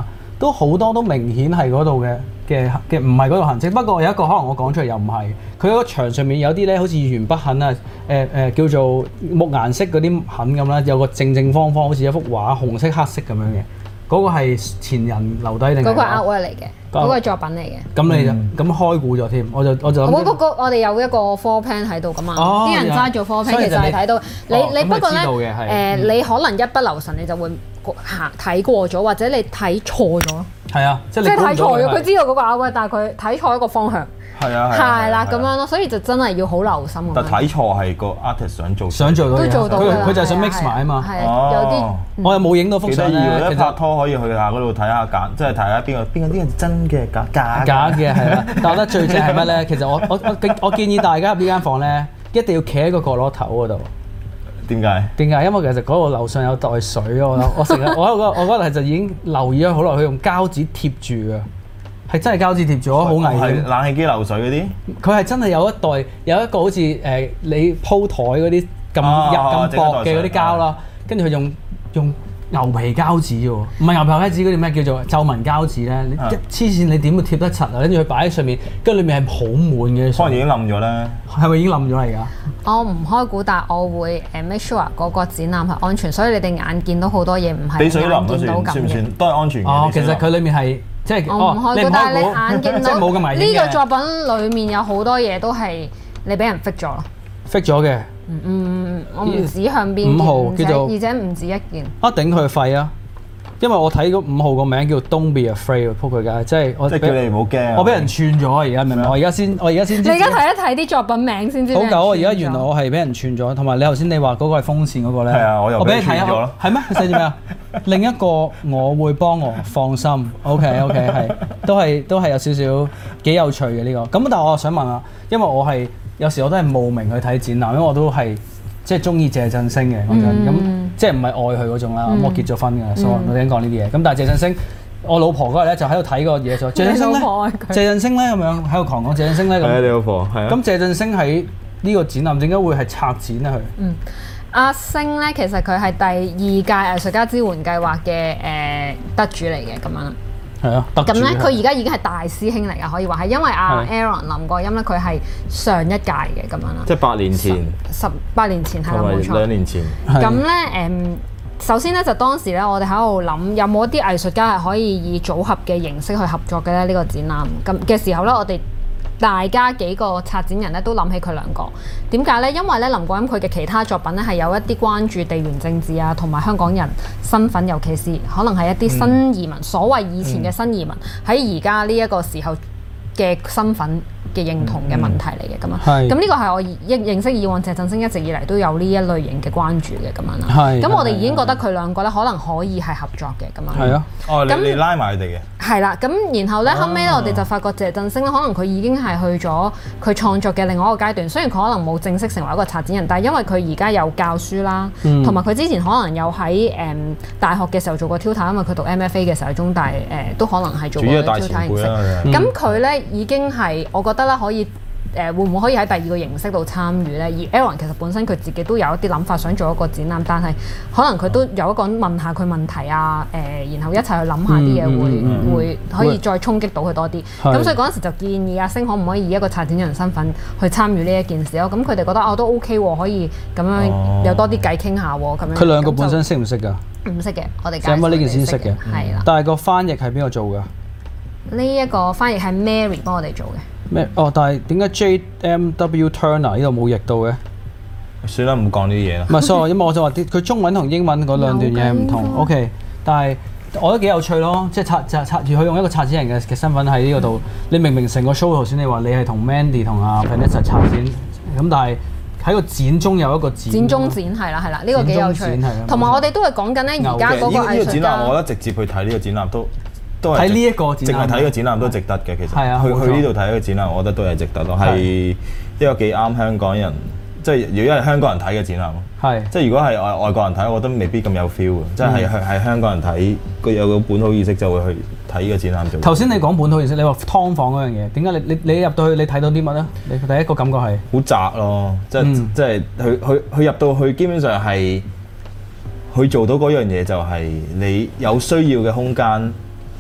都好多都明顯係嗰度嘅唔係嗰度痕跡。不過有一個可能我講出嚟又唔係，佢嗰個牆上面有啲咧好似鉛筆痕啊，叫做木顏色嗰啲痕咁啦，有個正方好似一幅畫，紅色黑色咁樣嘅。嗰個係前人留低定係？嗰個 artwork 嚟嘅，嗰個作品嚟嘅。 咁你就咁開估咗添，我就我哋有一個 floor plan 喺度噶嘛，啲人揸住 floor plan 其實係睇到你不過咧你可能一不留神你就會睇過咗，或者你睇錯咗。 係啊，即係睇錯咗，佢知道嗰個 artwork，但係佢睇錯一個方向。係啦，咁樣咯，所以就真係要好留心。 但睇錯係個 artist 想做到都做到佢就係想 mix 埋啊嘛。 係有啲我又冇影到幅相咧。 其實拍拖可以去下嗰度睇下假，即係睇下邊個係真嘅假嘅係啦。但我覺得最正係乜咧？其實我建議大家入呢間房咧，一定要企喺個角落頭嗰度。 點解？ 因為其實嗰度樓上有袋水，我成日我嗰日就已經留意咗好耐，佢用膠紙貼住㗎。係真係膠紙貼咗，好危險。係冷氣機流水嗰啲？ 佢係真係有一個好似你鋪台嗰啲咁薄嘅嗰啲膠啦，跟住佢用牛皮膠紙喎，唔係牛皮膠紙嗰啲咩叫做皺紋膠紙咧？你黐線你點會貼得柒啊？跟住佢擺喺上面，跟住裏面係好滿嘅。 可能已經冧咗咧。係咪已經冧咗嚟㗎？ 我唔開估，但係我會make sure 嗰個展覽係安全，所以你哋眼見到好多嘢唔係眼見到咁嘅。 算唔算都係安全嘅？ 其實佢裏面係。即係我唔開估，但係你眼見到冇咁危險嘅。 呢個作品裡面有好多嘢都係你俾人 fix 咗咯。 fix 咗嘅。 我唔止向邊 5號叫做， 而且唔止一件。 頂佢肺啊！因為我睇嗰5號個名叫 Don't Be Afraid，撲佢街，即係叫你唔好驚。我俾人串咗而家明唔明？我而家先知。 你而家睇一睇啲作品名先知。 好久啊！而家原來我係俾人串咗，同埋你頭先你話嗰個係風扇嗰個咧。 係啊，我又俾你串咗咯。 係咩？佢寫住咩啊？另一個我會幫我放心。OK 係，都係有少少幾有趣嘅呢個。咁但係我想問啊，因為我係有時我都係慕名去睇展覽，因為我都係即係中意謝振聲嘅講真咁。即係唔係愛佢嗰種啦，我結咗婚㗎，所以我哋已經講呢啲嘢。咁但係謝振聲，我老婆嗰日咧就喺度睇個嘢咗。謝振聲咧，謝振聲咧咁樣喺度狂講謝振聲咧咁。 係啊，你老婆係啊。 咁謝振聲喺呢個展覽點解會係策展咧？佢阿星咧，其實佢係第2屆藝術家支援計劃嘅得主嚟嘅咁樣。 係啊， 咁咧佢而家已經係大師兄嚟㗎，可以話係因為阿 Aaron 林國欽咧，佢係上一屆嘅咁樣啦。 即係8年前。18 年前係啦，冇錯。 2年前。 咁咧首先咧就當時咧，我哋喺度諗有冇一啲藝術家係可以以組合嘅形式去合作嘅咧？呢個展覽咁嘅時候咧，我哋大家幾個策展人咧都諗起佢2個。點解咧？因為咧林國欽佢嘅其他作品咧係有一啲關注地緣政治啊，同埋香港人身份，尤其是可能係一啲新移民，所謂以前嘅新移民喺而家呢一個時候嘅身份嘅認同嘅問題嚟嘅咁樣，咁呢個係我認識以往謝振聲一直以嚟都有呢一類型嘅關注嘅咁樣啦。咁我哋已經覺得佢2個咧可能可以係合作嘅咁樣。 係啊， 你拉埋佢哋嘅。係啦，咁然後咧後尾咧我哋就發覺謝振聲咧可能佢已經係去咗佢創作嘅另外一個階段。雖然佢可能冇正式成為一個策展人，但係因為佢而家有教書啦，同埋佢之前可能有喺大學嘅時候做過 tutor，因為佢讀 MFA 嘅時候喺中大都可能係做過 tutor 形式。咁佢咧已經係我覺得咧可以。會唔會可以喺第2個形式度參與咧？而 Aaron 其實本身佢自己都有一啲諗法想做一個展覽，但係可能佢都有一個問下佢問題啊，然後一齊去諗下啲嘢會可以再衝擊到佢多啲。咁所以嗰陣時就建議阿星可唔可以以一個策展人身份去參與呢一件事咯？咁佢哋覺得都 OK 喎，可以咁樣有多啲偈傾下喎，咁樣。 佢2個本身識唔識㗎？ 唔識嘅，我哋就因為呢件先識嘅。 係啦。 但係個翻譯係邊個做㗎？ 呢一個翻譯係 Mary 幫我哋做嘅。 咩？但係點解 JMW Turner 呢度冇譯到嘅？ 算啦，唔講呢啲嘢啦。 唔係，sorry，因為我就話佢中文同英文嗰2段嘢唔同。OK，但係我覺得幾有趣咯，即係佢用一個策展人嘅身份喺呢個度。你明明成個 show 頭先你話你係同 Mandy 同阿 Vanessa 策展，咁但係喺個展中有一個展中展係啦，呢個幾有趣。同埋我哋都係講緊咧，而家嗰個藝術家， 我覺得直接去睇呢個展覽都睇呢一個展覽， 淨係睇個展覽都值得嘅。其實去呢度睇個展覽，我覺得都係值得咯。係一個幾啱香港人，即係如果係香港人睇嘅展覽咯。係即係如果係外國人睇，我覺得未必咁有 feel 嘅。即係香港人睇，佢有個本土意識就會去睇呢個展覽。 頭先你講本土意識，你話劏房嗰樣嘢，點解你入到去你睇到啲乜咧？你第一個感覺係好窄咯，即係佢入到去基本上係佢做到嗰樣嘢，就係你有需要嘅空間。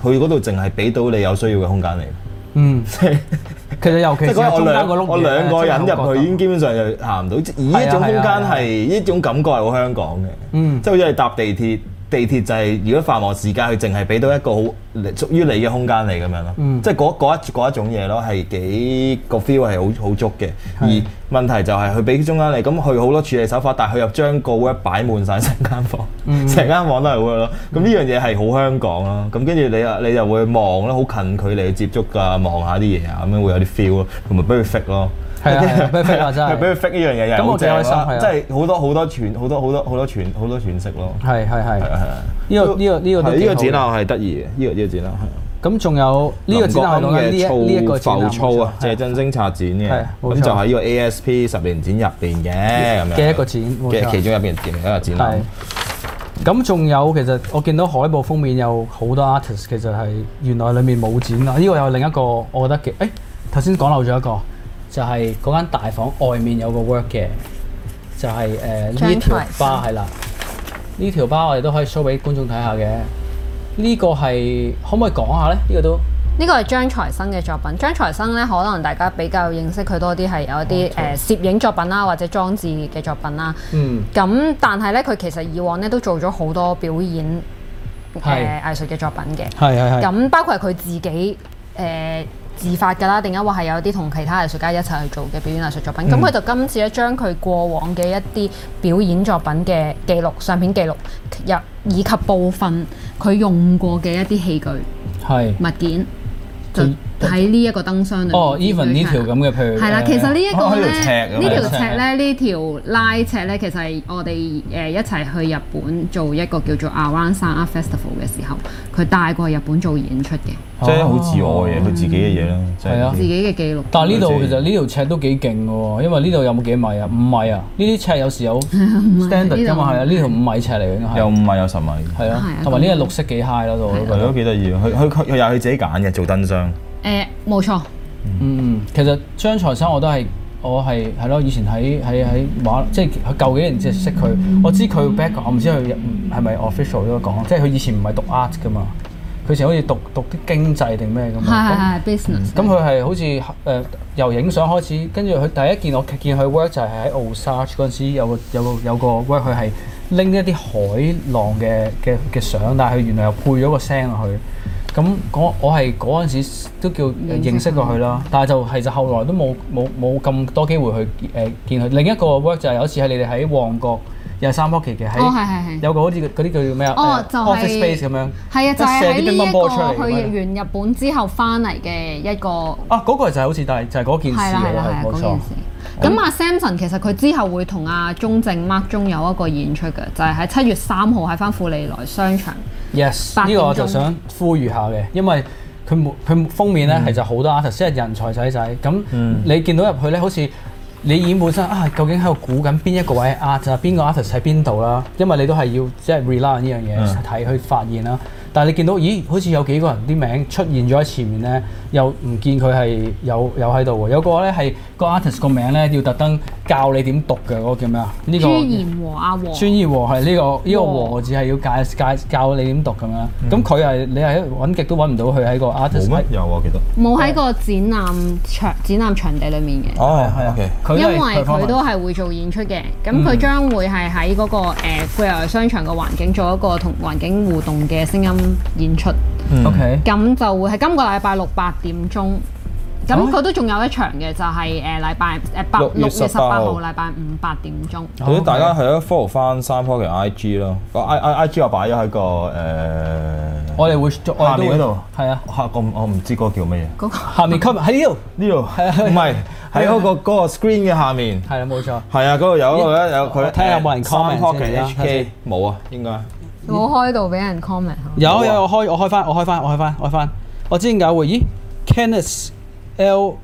佢嗰度淨係俾到你有需要嘅空間嚟。 嗯，其實尤其是中間個碌嘢， 我兩個人入去已經基本上就行唔到。而呢種空間係呢種感覺係好香港嘅。嗯，即係好似係搭地鐵。地鐵就係如果繁忙時間，佢淨係俾到一個好屬於你嘅空間嚟咁樣咯，即係嗰一種嘢咯，係幾個 feel 係好足嘅。而問題就係佢俾中間你，咁佢好多處理手法，但係佢又將個 work 擺滿晒成間房，成間房都係 work 咯。咁呢樣嘢係好香港咯。咁跟住你就會望咯，好近距離去接觸㗎，望下啲嘢啊，咁樣會有啲 feel 咯，同埋俾佢 fit 咯。 係啊，俾佢 fit 啊，真係。 俾佢 fit 呢樣嘢又係好正咯，即係好多詮釋咯。 係。呢個展覽係得意嘅，呢個展覽係。 咁仲有呢個展覽嘅呢個浮躁啊，謝振聲策展嘅，咁就喺呢個 ASP 10年展入邊嘅咁樣。 嘅一個展， 嘅其中入邊嘅一個展覽。 咁仲有其實我見到海報封面有好多 artist， 其實係原來裡面冇展啊。呢個有另一個我覺得嘅，頭先講漏咗一個。就係嗰間大房外面有個 work 嘅，就係呢條巴係啦，呢條巴我哋都可以 show 俾觀眾睇下嘅。呢個係可唔可以講下咧？呢個係張財生嘅作品。張財生咧，可能大家比較認識佢多啲係有一啲攝影作品啦，或者裝置嘅作品啦。咁但係咧，佢其實以往咧都做咗好多表演藝術嘅作品嘅。係。咁包括係佢自己自發㗎啦，定係話係有啲同其他藝術家一齊去做嘅表演藝術作品。咁佢就今次咧將佢過往嘅一啲表演作品嘅記錄、相片記錄，以及部分佢用過嘅一啲器具、物件，就喺呢一個燈箱裏面。 even 呢條咁嘅，譬如係啦， 其實呢一個咧，呢條尺咧，呢條拉尺咧，其實係我哋一齊去日本做一個叫做 Around Sound Art Festival 嘅時候，佢帶過去日本做演出嘅。 即係好自我嘅嘢，佢自己嘅嘢咯， 係啊， 自己嘅記錄。 但係呢度其實呢條尺都幾勁嘅喎，因為呢度有冇幾米啊？5米啊！呢啲尺有時有 standard 㗎嘛，係啊，呢條5米尺嚟嘅應該係。有5米有10米。係啊，同埋呢個綠色幾 high 咯度。係咯，幾得意啊！佢又係佢自己揀嘅做燈箱。 冇錯。 其實張財生我係咯，以前喺畫，即係佢舊幾年即係識佢，我知佢 background，我唔知佢係咪 official 都講，即係佢以前唔係讀 art 㗎嘛。佢以前好似讀啲經濟定咩咁啊？係 business。咁佢係好似由影相開始，跟住佢第一件我見佢 work 就係喺 Osage 嗰陣時有個 work， 佢係拎一啲海浪嘅相，但係佢原來又配咗個聲落去。咁我係嗰陣時都叫認識過佢啦，但係就後來都冇咁多機會去見佢。另一個 work 就係有一次係你哋喺旺角。又係3 pocket 嘅，有個好似嗰啲叫咩啊？ 就係 office space 咁樣。 係啊，就係喺呢一個去完日本之後翻嚟嘅一個。 嗰個就係好似就係嗰件事嚟嘅，冇錯。 咁阿 Samson 其實佢之後會同阿鐘正 Mark 中有一個演出嘅，就係喺7月3號喺翻富利來商場。 Yes， 呢個我就想呼籲下嘅，因為佢封面咧係就好多 artist，即係人才仔咁。你見到入去咧，好似〜你演本身究竟喺度估緊邊一個位 art 啊？邊個 artist 喺邊度啦？因為你都係要即係 rely 呢樣嘢睇去發現啦。但係你見到，咦？好似有幾個人啲名出現咗喺前面咧，又唔見佢係有喺度喎。有個咧係個 artist 個名咧，要特登教你點讀嘅嗰個叫咩啊？呢個朱炎和阿和。 朱炎和係呢個和字係要教你點讀咁樣。咁佢係你係揾極都揾唔到佢喺個 artist。 冇乜有啊，記得。 冇喺個展覽場地裡面嘅。 哦，係啊。 因為佢都係會做演出嘅，咁佢將會係喺嗰個富利來商場嘅環境做一個同環境互動嘅聲音演出。 OK， 咁就會係今個禮拜六8點鐘。咁佢都仲有一場嘅，就係禮拜6月18號禮拜5 8點鐘。 咁大家係咯 follow 翻3 pocket 嘅 IG 咯，個 IG 我擺咗喺個我哋會下面嗰度。 係啊， 我唔知嗰個叫乜嘢。 嗰個下面 comment 喺呢度， 唔係喺嗰個 screen 嘅下面。 係啊，冇錯。 係啊，嗰度有佢睇下有冇人 comment 3 pocket HK 冇啊，應該。 冇開到俾人 comment。 有我開翻。我知點解會？咦 Kenneth L.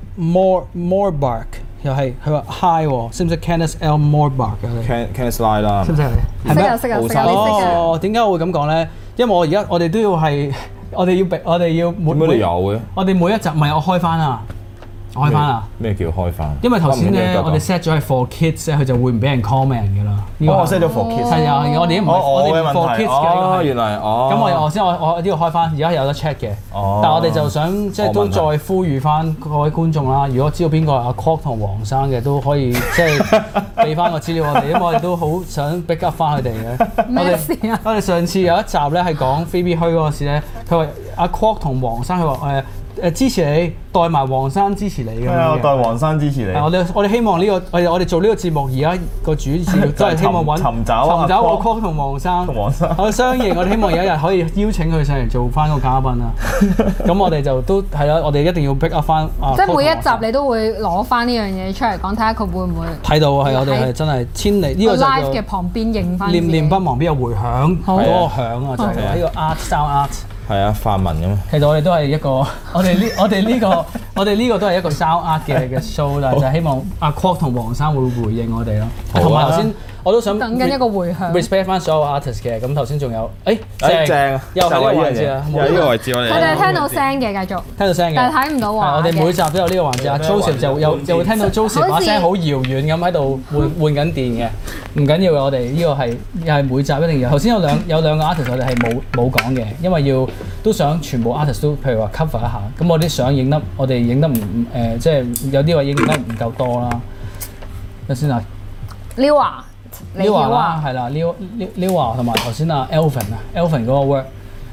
Morbark 又係佢話 hi 喎，識唔識 Kenneth L. Morbark 嘅 ？Kenneth Lie 啦， 識唔識係？識啊識啊識啊！ 哦，點解我會咁講咧？因為我哋都要係，我哋要每都有嘅。我哋每一集唔係我開翻啊， 開翻啦！ 咩叫開翻？ 因為頭先咧，我哋 set 咗係 for kids 咧，佢就會唔俾人 comment 㗎啦。 我 set 咗 for kids。 係啊，我哋唔係我哋 for kids 嘅。 原來咁我呢個開翻，而家有得 check 嘅。但係我哋就想即係都再呼籲翻各位觀眾啦，如果知道邊個係阿 Quark 同黃生嘅，都可以即係俾翻個資料我哋，因為我哋都好想 back up 翻佢哋嘅。 咩事啊？ 我哋上次有一集咧係講 Phoebe 墟嗰個事咧，佢話阿 Quark 同黃生，佢話支持你，代埋黃生支持你咁樣嘅。係啊， 代黃生支持你。 我哋希望呢個我哋做呢個節目，而家個主旨都係希望尋找阿 Quark 同黃生。我哋相認，我哋希望有一日可以邀請佢上嚟做翻個嘉賓啦。咁我哋就都係啦，我哋一定要 pick up 翻。 即係每一集你都會攞翻呢樣嘢出嚟講，睇下佢會唔會睇到係我哋係真係千里呢個就 live 嘅旁邊認翻。 念不忘必有回響，嗰個響啊就係呢個 art sound art。 係啊，泛文咁。 其實我哋都係一個，我哋呢個都係一個 sound art 嘅 show 啦，就係希望阿 Quark 同黃生會回應我哋咯。同埋頭先我都想等緊一個回響 respect 翻所有 artist 嘅。咁頭先仲有， 正啊， 又係呢個位置啊， 有呢個位置我哋。 佢哋聽到聲嘅，繼續聽到聲嘅， 但係睇唔到畫嘅。 我哋每集都有呢個環節，阿 Joseph 就會聽到 Joseph 把聲好遙遠咁喺度換緊電嘅。唔緊要嘅，我哋呢個係又係每集一定要。頭先有兩個 artist 我哋係冇講嘅，因為都想全部 artist 都譬如話 cover 一下。咁我啲相影得我哋影得唔即係有啲話影得唔夠多啦。睇先啊 Liwa 啦，係啦 Liwa 同埋頭先啊 Elvin 嗰個 work。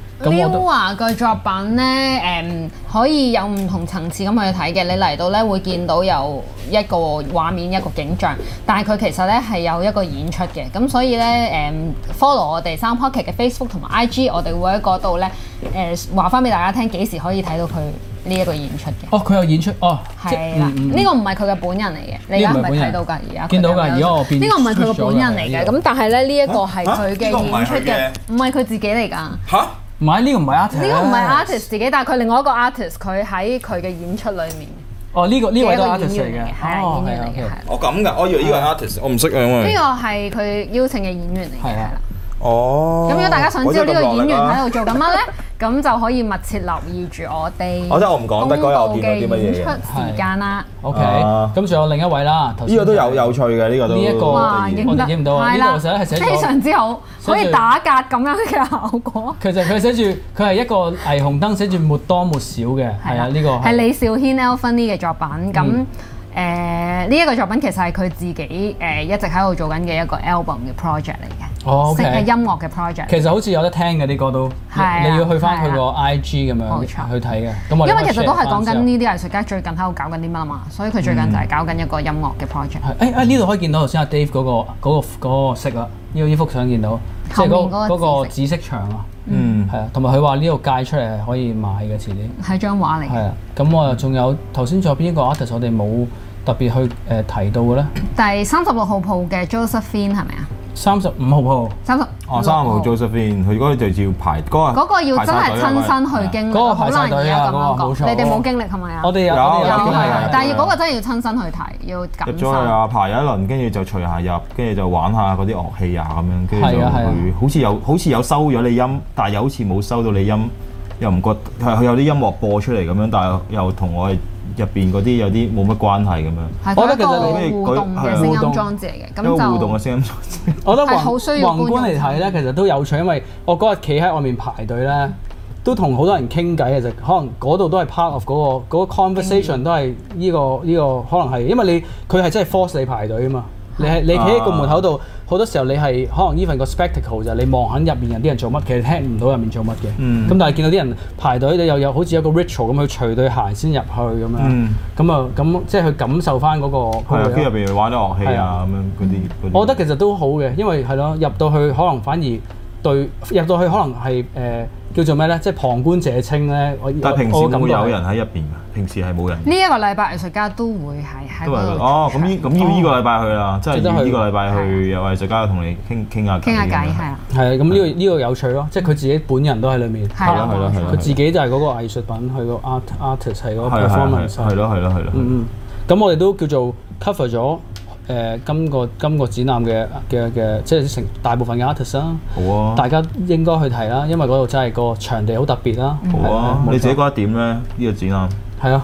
Liwa 嘅作品咧可以有唔同層次咁去睇嘅。你嚟到咧會見到有一個畫面一個景象，但係佢其實咧係有一個演出嘅。咁所以咧follow 我哋3 Pocket 嘅 Facebook 同埋 IG， 我哋會喺嗰度咧話翻俾大家聽幾時可以睇到佢呢一個演出嘅。 哦，佢有演出哦， 係啦，呢個唔係佢嘅本人嚟嘅，你而家係咪睇到㗎？而家見到㗎，而家我變呢個唔係佢嘅本人嚟嘅。咁但係咧呢一個係佢嘅演出嘅，唔係佢自己嚟㗎。 嚇？ 唔係呢個唔係 artist， 呢個唔係 artist 自己，但係佢另外一個 artist，佢喺佢嘅演出裏面。 哦，呢位都係 artist 嚟嘅， 係演員嚟嘅，係。 我咁㗎，我以為呢個係 artist，我唔識啊，因為呢個係佢邀請嘅演員嚟嘅，係啦。 哦。 咁如果大家想知道呢個演員喺度做緊乜咧，咁就可以密切留意住我哋我唔講得嗰日我見到啲乜嘢演出時間啦。 OK，咁仲有另一位啦， 呢個都有趣嘅，呢個都呢一個我哋影唔到啊，呢個係寫咗非常之好，可以打格咁樣嘅效果。 其實佢寫住佢係一個霓虹燈，寫住沒多沒少嘅，係啊，呢個係李兆軒 Elvin 嘅作品咁。呢一個作品其實係佢自己一直喺度做緊嘅一個 album 嘅 project 嚟嘅，係音樂嘅 project。 其實好似有得聽嘅啲歌都，你要去翻佢個 IG 咁樣去睇嘅。因為其實都係講緊呢啲藝術家最近喺度搞緊啲乜啊嘛，所以佢最近就係搞緊一個音樂嘅 project。 呢度可以見到頭先阿 Dave 嗰個色啦，呢幅相見到，即係嗰個紫色牆啊。係啊，同埋佢話呢度界出嚟係可以買嘅，遲啲係張畫嚟嘅。係啊， 咁我又仲有頭先仲有邊一個 artist 我哋冇特別去提到嘅咧？ 第36號鋪嘅 Josephine 係咪啊 ？35號鋪。 35號 Josephine，佢嗰個就要排嗰個要真係親身去經歷，好難而家咁樣講。你哋冇經歷係咪啊？ 我哋有， 但係嗰個真係要親身去睇，要感受。 入咗去啊，排一輪，跟住就除下入，跟住就玩下嗰啲樂器啊咁樣，跟住就會好似有收咗你音，但係又好似冇收到你音，又唔覺佢有啲音樂播出嚟咁樣，但係又同我哋入邊嗰啲有啲冇乜關係咁樣。 我覺得其實互動嘅聲音裝置嚟嘅，咁就互動嘅聲音裝置。 我覺得宏觀嚟睇咧，其實都有趣，因為我嗰日企喺外面排隊咧，都同好多人傾偈嘅，就可能嗰度都係 part of 嗰個 conversation 都係呢個可能係，因為佢係真係 force 你排隊啊嘛。你企喺個門口度，好多時候你係可能 even 個 spectacle 就係你望緊入面人啲人做乜，其實聽唔到入面做乜嘅。咁但係見到啲人排隊，你又有好似有個 ritual 咁去除對鞋先入去咁樣。咁即係去感受翻嗰個。係啊， 跟住入邊玩啲樂器啊咁樣嗰啲。 我覺得其實都好嘅，因為係咯，入到去可能反而入到去可能係叫做咩咧？即係旁觀者清咧。 但係平時會有人喺入邊㗎？平時係冇人。 呢一個禮拜藝術家都會係喺嗰度。 哦，咁要呢個禮拜去啦，即係要呢個禮拜去有藝術家同你傾下偈。 傾下偈係啊。 係啊，咁呢個有趣咯，即係佢自己本人都喺裏面。 係啦， 佢自己就係嗰個藝術品，佢個 artist 係嗰個 performance。 係咯。 咁我哋都叫做 cover 咗。今個展覽嘅即係成大部分嘅 artist 啦， 好啊！ 大家應該去睇啦，因為嗰度真係個場地好特別啦。 好啊！你自己覺得點咧？呢個展覽係啊，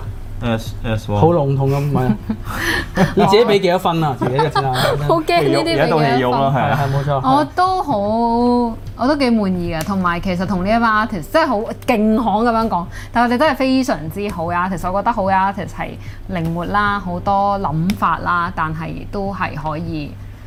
S1 好籠統咁唔係，你自己俾幾多分啊？自己嘅展覽好驚呢啲俾幾多分？ 係冇錯。 我都幾滿意嘅，同埋其實同呢一班 artist 即係好勁行咁樣講，但係我哋都係非常之好嘅 artist。我覺得好嘅 artist 係靈活啦，好多諗法啦，但係都係可以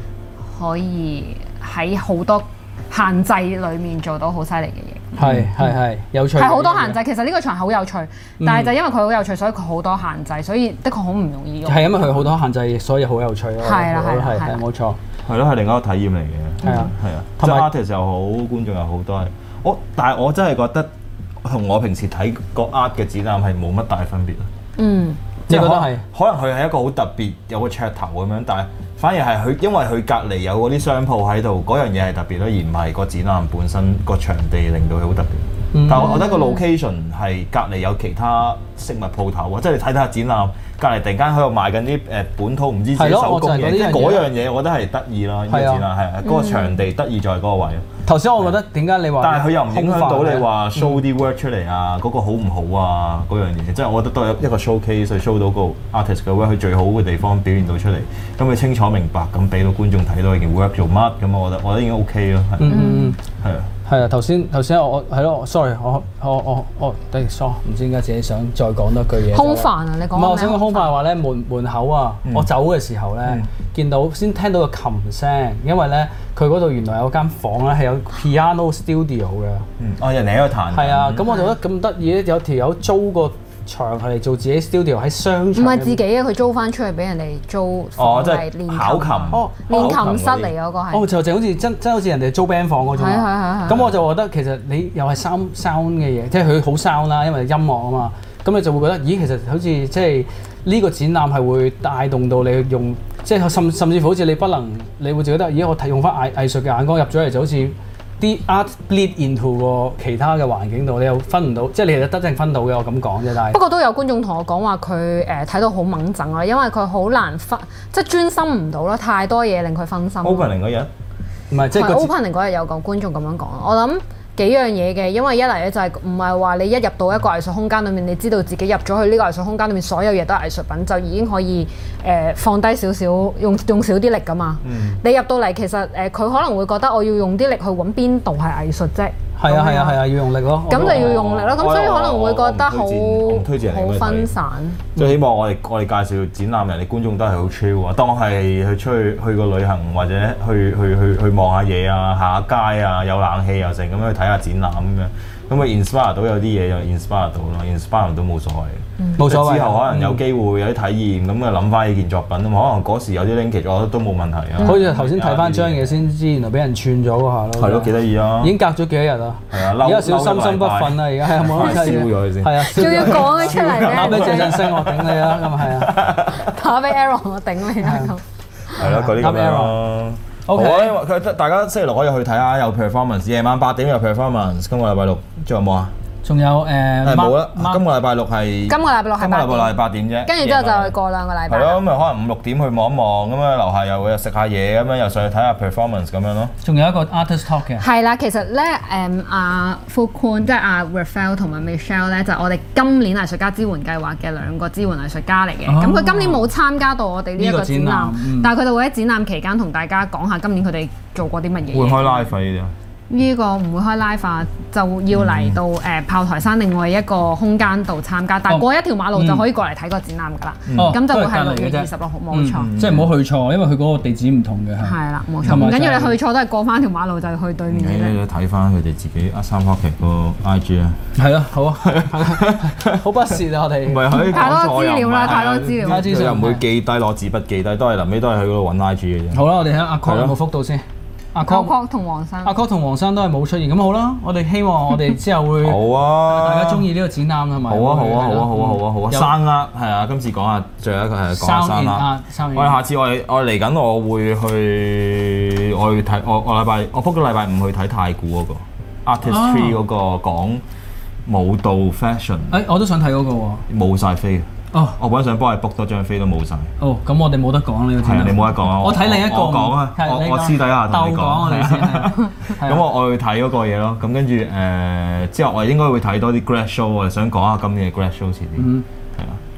喺好多限制裡面做到好犀利嘅嘢。 係有趣。 係好多限制，其實呢個場好有趣，但係就因為佢好有趣，所以佢好多限制，所以的確好唔容易用。 係因為佢好多限制，所以好有趣咯。 係啦， 冇錯。 係咯，係另一個體驗嚟嘅。係啊，即係 artist 又好，觀眾又好，都係但係我真係覺得同我平時睇個 art 嘅展覽係冇乜大分別咯。 你覺得係？ 可能佢係一個好特別，有個噱頭咁樣，但係反而係佢因為佢隔離有嗰啲商鋪喺度，嗰樣嘢係特別咯，而唔係個展覽本身個場地令到佢好特別。但係我覺得個 location 係隔離有其他飾物鋪頭啊，即係你睇下展覽隔離突然間喺度賣緊啲本土唔知自己手工嘢，即係嗰樣嘢，我覺得係得意啦。呢個展覽係嗰個場地得意在嗰個位。頭先我覺得點解你話？ 但係佢又唔影響到你話 show 啲 work 出嚟啊，嗰個好唔好啊？嗰樣嘢，即係我覺得都係一個 showcase 去 show 到個 artist 嘅 work 佢最好嘅地方表現到出嚟，咁佢清楚明白咁俾到觀眾睇到佢件 work 做乜，咁我覺得已經 OK 咯。係啊。係啊，頭先我係咯 ，sorry， 我sorry，唔知點解自己想再講多句嘢。 空泛啊，你講咩？唔係， 我想講空泛話咧，門口啊，我走嘅時候咧，見到先聽到個琴聲，因為咧佢嗰度原來有間房咧係有 piano studio 嘅。 人哋喺度彈。係啊，咁我就覺得咁得意咧，有條友租個場係嚟做自己 studio 喺商場。唔係自己啊，佢租翻出去俾人哋租房嚟練琴。 考琴。 練琴室嚟嗰個係。 就好似真好似人哋租 band 房嗰種。係。咁我就覺得其實你又係 sound 嘅嘢，即係佢好 sound 啦，因為音樂啊嘛。咁你就會覺得，咦，其實好似即係呢個展覽係會帶動到你用，即係甚至乎好似你會覺得，咦，我用翻藝術嘅眼光入咗嚟，就好似啲 art bleed into 個其他嘅環境度，你又分唔到，即係你其實得正分到嘅，我咁講啫。但係不過都有觀眾同我講話，佢睇到好掹整啊，因為佢好難即係專心唔到咯，太多嘢令佢分心。 Opening 嗰日唔係即係 Opening 嗰日有個觀眾咁樣講，我諗。幾樣嘢嘅，因為一嚟咧就係唔係話你一入到一個藝術空間裏面，你知道自己入咗去呢個藝術空間裏面所有嘢都係藝術品，就已經可以放低少少，用少啲力噶嘛。你入到嚟其實佢可能會覺得我要用啲力去揾邊度係藝術啫。係啊， 要用力咯。 咁就要用力咯，咁所以可能會覺得好分散。 即係希望我哋介紹展覽人哋觀眾都係好 chill 啊，當我係去個旅行或者去望下嘢啊，行下街啊，有冷氣又成咁樣去睇下展覽咁樣，咁啊 inspire 到有啲嘢就 inspire 到咯 ，inspire 都冇所謂。 冇所謂。 之後可能有機會有啲體驗，咁啊諗翻呢件作品啊嘛，可能嗰時有啲 linkage，我覺得都冇問題啊。 好似頭先睇翻張嘢先知，原來俾人串咗嗰下咯。 係咯，幾得意啊！ 已經隔咗幾多日啦。係啊，而家少心心不憤啊！而家係冇得燒咗佢先。係啊， 仲要講佢出嚟咧。 打俾謝振聲，我頂你啦！咁啊係啊。 打俾 Aaron，我頂你啦咁。 係咯，嗰啲咁樣咯。好啊，因為佢大家星期六可以去睇下，有 performance， 夜晚8點有 performance。今個禮拜六仲有冇啊？ 仲有冇啦，今個禮拜六係今個禮拜8點啫，跟住之後就過2個禮拜。 係咯，咁咪可能5、6點去望一望，咁樣樓下又會食下嘢，咁樣又上去睇下 performance 咁樣咯。 仲有一個 artist talk 嘅。係啦，其實咧阿 Fuquan 即係阿 Raphael 同埋 Michelle 咧，就係我哋今年藝術家支援計劃嘅2個支援藝術家嚟嘅。咁佢今年冇參加到我哋呢一個展覽，但係佢哋會喺展覽期間同大家講下今年佢哋做過啲乜嘢。 會開 live 呢啲啊？ 呢個唔會開 live 啊，就要嚟到炮台山另外一個空間度參加，但係過一條馬路就可以過嚟睇個展覽㗎啦。咁就會係6月26號，冇錯。即係唔好去錯，因為佢嗰個地址唔同嘅。係啦，冇錯。唔緊要，你去錯都係過翻條馬路就去對面嘅。 你睇翻佢哋自己3 Pocket 個 IG 啊。 係咯，好啊，好不屑啊！我哋唔係可以太多資料啦，太多資料。 佢又唔會記低攞紙筆記低，都係臨尾都係去嗰度揾 IG 嘅啫。 好啦，我哋睇下阿 Con 有冇覆到先。阿 Con 同黃生， 阿 Con 同黃生都係冇出現，咁好啦。我哋希望我哋之後會好啊，大家中意呢個展覽同埋好啊，生握係啊，今次講下最後一個係講下生握。我哋下次我嚟緊，我會去睇我 book 咗禮拜5去睇太古嗰個 Artistry 嗰個講舞蹈 fashion。 我都想睇嗰個喎， 冇晒飛。我本來想幫你 book 多張飛都冇晒。 咁我哋冇得講呢個展覽。 你冇得講啊！ 我睇另一個。 我講啊！我私底下同你講。 我哋先。 咁我去睇嗰個嘢咯。咁跟住之後我應該會睇多啲 grad show。我哋想講下今年嘅 grad show 遲啲。係啊。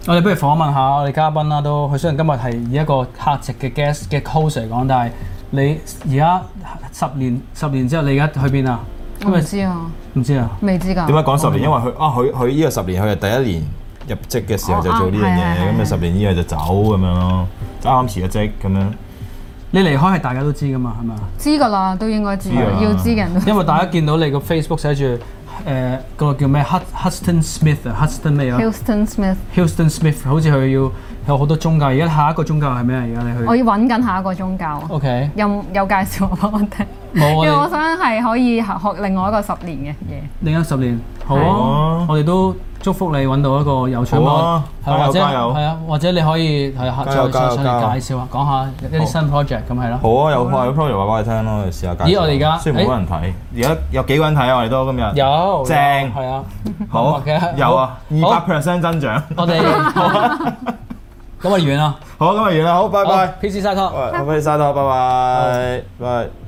我哋不如訪問下我哋嘉賓啦，都佢雖然今日係以一個客席嘅 guest 嘅 host 嚟講，但係你而家10年之後，你而家去邊啊？ 我唔知啊， 唔知啊， 未知㗎。 點解講10年？因為佢呢個10年，佢係第一年入職嘅時候就做呢樣嘢，咁咪10年以後就走咁樣咯，啱啱辭咗職咁樣。 你離開係大家都知㗎嘛，係咪啊？ 知㗎啦，都應該知，要知嘅人都。 因為大家見到你個 Facebook 寫住個叫咩 Huston Smith 啊 ，Huston 咩啊 ？Huston Smith 好似佢要有好多宗教。而家下一個宗教係咩啊？而家你去？ 我要揾緊下一個宗教。 OK。 有介紹我幫我聽。 冇啊。因為我想係可以學另外一個10年嘅嘢。 另一10年，好啊！我哋都祝福你揾到一個有趣嘅，或者係啊，或者你可以係再上嚟介紹下，講下一啲新 project 咁係咯。 好啊，有 project 話俾你聽咯，你試下介紹。 咦，我哋而家雖然冇人睇，而家有幾個人睇啊？我哋都今日有正係啊， 好有啊，200% 增長。 我哋咁啊完啦， 好，咁啊完啦，好，拜拜。 PC Side Talk， PC Side Talk，拜拜，拜。